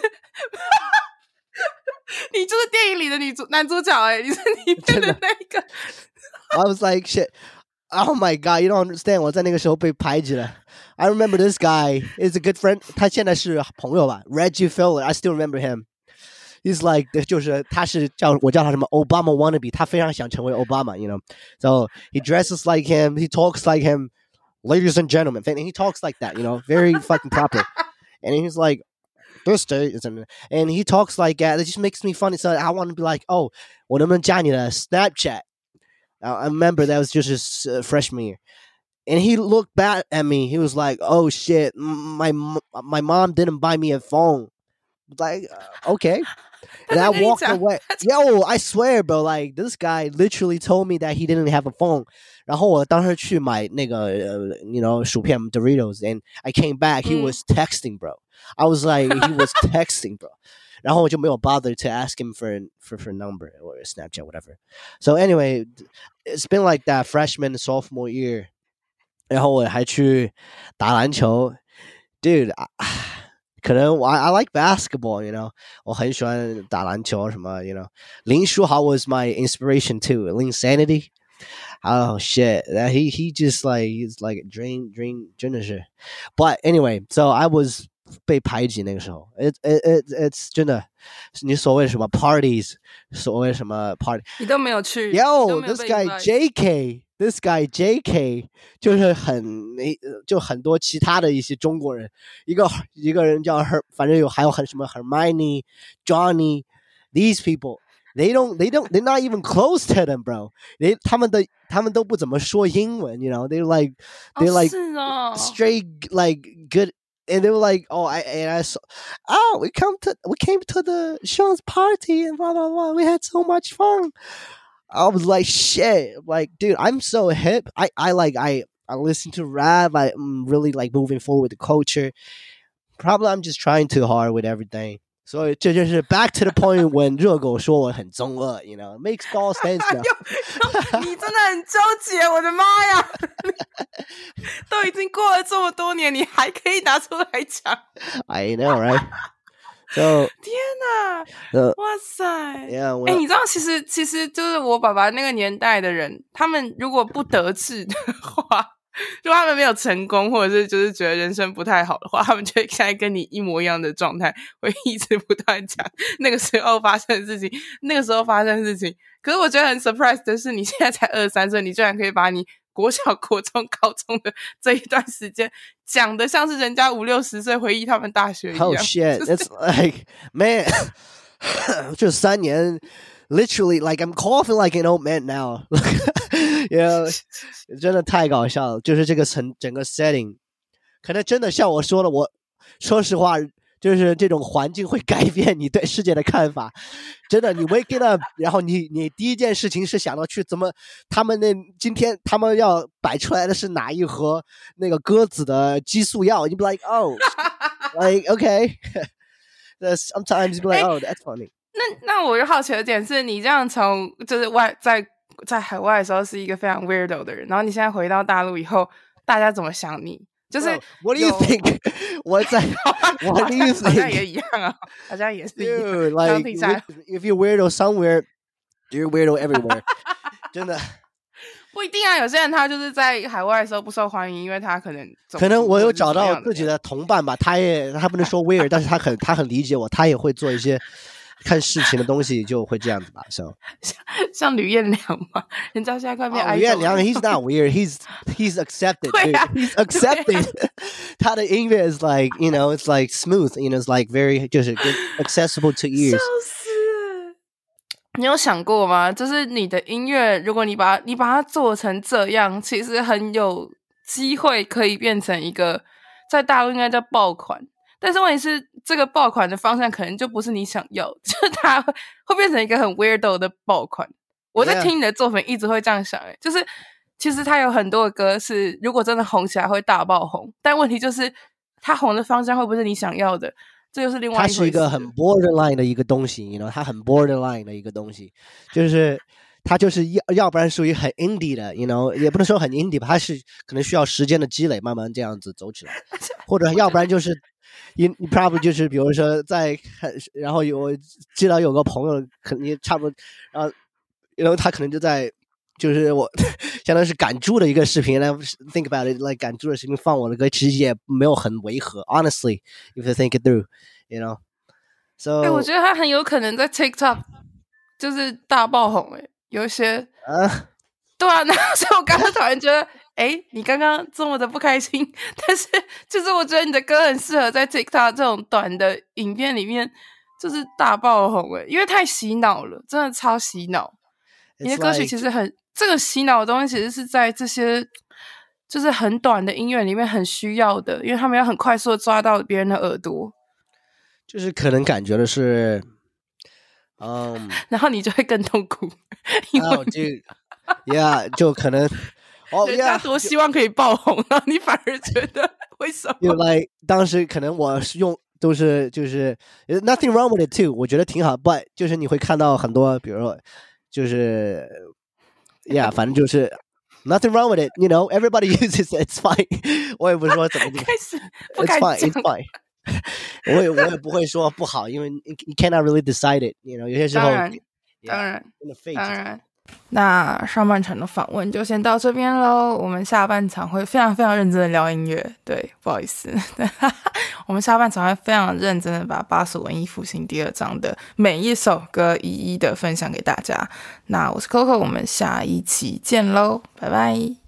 Speaker 1: 你就是電影裡的男主角你是裡面的那個。
Speaker 2: I was like shit. Oh my god, you don't understand. 我在那個時候被排擠了。I remember this guy is a good friend. 他現在是朋友吧 Reggie Filler. I still remember him. He's like 就是我叫他什麼 Obama wannabe. 他非常想成為 Obama, you know. So he dresses like him. He talks like him. Ladies and gentlemen. And he talks like that, you know. Very fucking proper. And he's like, this day isn't. And he talks like that. It just makes me funny. So I want to be like, oh, 我能不能加你的 Snapchat? I remember that was just his freshman year. And he looked back at me. He was like, oh, shit, my mom didn't buy me a phone. Like, okay. And I walked away. Yo, I swear, bro, like, this guy literally told me that he didn't have a phone. 然後我當時去買那個you know, 薯片 Doritos. And I came back. He was texting, bro. I was like, he was texting, bro. 然後我就沒有 bother to ask him for a number or a Snapchat, whatever. So anyway, it's been like that freshman and sophomore year. 然後我還去打籃球 Dude, 可能I like basketball, you know. 我很喜歡打籃球什麼 you know. 林書豪 was my inspiration too. Linsanity. Oh shit. He just like he's like dream 真的是 But anyway, so I was 被排擠那個時候 It's 真的你所謂什麼 parties 所謂什麼 party
Speaker 1: 你都沒有去
Speaker 2: Yo, this guy JK 就是就很多其他的一些中國人一個人叫反正還有很什麼 Hermione Johnny These people They're not even close to them, bro. 他們都不怎麼說英文 you know. They're like straight like good And they were like, I saw, we came to the Sean's party and blah, blah, blah. We had so much fun. I was like, shit. Like, dude, I'm so hip. I listen to rap. I'm really like moving forward with the culture. Probably I'm just trying too hard with everything. So 這就是 back to the point when 熱狗說我很中二 you know, it makes all sense now.
Speaker 1: 你真的很糾結，我的媽呀！都已經過了這麼多年，你還可以拿出來講。
Speaker 2: I know, right? So
Speaker 1: 天哪！哇塞！你知道，其實就是我爸爸那個年代的人，他們如果不得志的話。如果他們沒有成功，或者是就是覺得人生不太好的話，他們就會現在跟你一模一樣的狀態，會一直不斷講那個時候發生的事情，可是我覺得很 surprise 的是，你現在才23歲，你居然可以把你國小、國中、高中的這一段時間講得像是人家50-60歲回憶他們大學一樣。
Speaker 2: Oh shit, it's like man， 就3年 ，literally like I'm coughing like an old man now 。Yeah, 真的太搞笑了，就是這個整個 setting， 可能真的像我說的，我說實話，就是這種環境會改變你對世界的看法。真的，你 waking up， 然後你第一件事情是想到去怎麼今天他們要擺出來的是哪一盒那個鴿子的激素藥，你 be like oh like okay sometimes you be like oh that's funny。
Speaker 1: 那我就好奇的點是，你這樣從就是在海外的時候是一個非常 weirdo 的人，然後你現在回到大陸以後，大家怎麼想你？ 就是
Speaker 2: What do you think？ 我在 What do you think？
Speaker 1: 好像也一樣啊，好像也是一樣。
Speaker 2: Like if you're weirdo somewhere, you're weirdo everywhere 。真的
Speaker 1: 不一定啊，有些人他就是在海外的時候不受歡迎，因為他可能
Speaker 2: 我有找到自己的同伴吧，他不能說 weird， 但是他很理解我，他也會做一些看事情的東西，就會這樣子吧。So
Speaker 1: 像呂彥良嘛，人家現在快變idol。
Speaker 2: 呂彥良 ，he's not weird， he's accepted， he's accepted 。他的音樂 is like you know it's like smooth， you know it's like very 就是 accessible to ears。
Speaker 1: 你有想過嗎？就是你的音樂，如果你把它做成這樣，其實很有機會可以變成一個在大陸應該叫爆款。但是問題是，這個爆款的方向可能就不是你想要，就是它會變成一個很 weirdo 的爆款。我在聽你的作品一直會這樣想，就是其實它有很多的歌是如果真的紅起來會大爆紅，但問題就是它紅的方向會不會是你想要的？這就是另外一回事。它是一個
Speaker 2: 很 borderline 的一個東西 you know， 它很 borderline 的一個東西，就是它就是要不然屬於很 indie 的 you know， 也不能說很 indie 吧，它是可能需要時間的積累，慢慢這樣子走起來，或者要不然就是你 probably 就是比如說然後我知道有個朋友可能也差不多，然後他可能就在就是我相當於是趕豬的一個視頻，然後 think about it， like 趕豬的視頻放我的歌，其實也沒有很違和 ，honestly， if you think it through，you know，so，
Speaker 1: 我覺得他很有可能在 TikTok 就是大爆紅，有一些對啊，所以我剛剛突然覺得，你剛剛這麼的不開心，但是就是我覺得你的歌很適合在 TikTok 這種短的影片裡面，就是大爆紅，因為太洗腦了，真的超洗腦。你的歌曲其實很這個洗腦的東西，其實是在這些就是很短的音樂裡面很需要的，因為他們要很快速的抓到別人的耳朵，
Speaker 2: 就是可能感覺的是，
Speaker 1: 然後你就會更痛苦，因為
Speaker 2: yeah， 就可能
Speaker 1: 人家多希望可以爆紅，然後你反而覺得為什麼？
Speaker 2: 因為當時可能我是用都是就是 nothing wrong with it too， 我覺得挺好 ，but 就是你會看到很多，比如說。就是反正就是 nothing wrong with it, you know, everybody uses it, it's fine 我也不是說怎麼it's fine 我也不會說不好，因為 you cannot really decide it, you know， 有些時候
Speaker 1: 當然那上半場的訪問就先到這邊咯，我們下半場會非常非常認真的聊音樂，對，不好意思我們下半場會非常認真的把巴蜀文藝復興第二章的每一首歌一一的分享給大家。那我是 Coco， 我們下一期見咯，拜拜。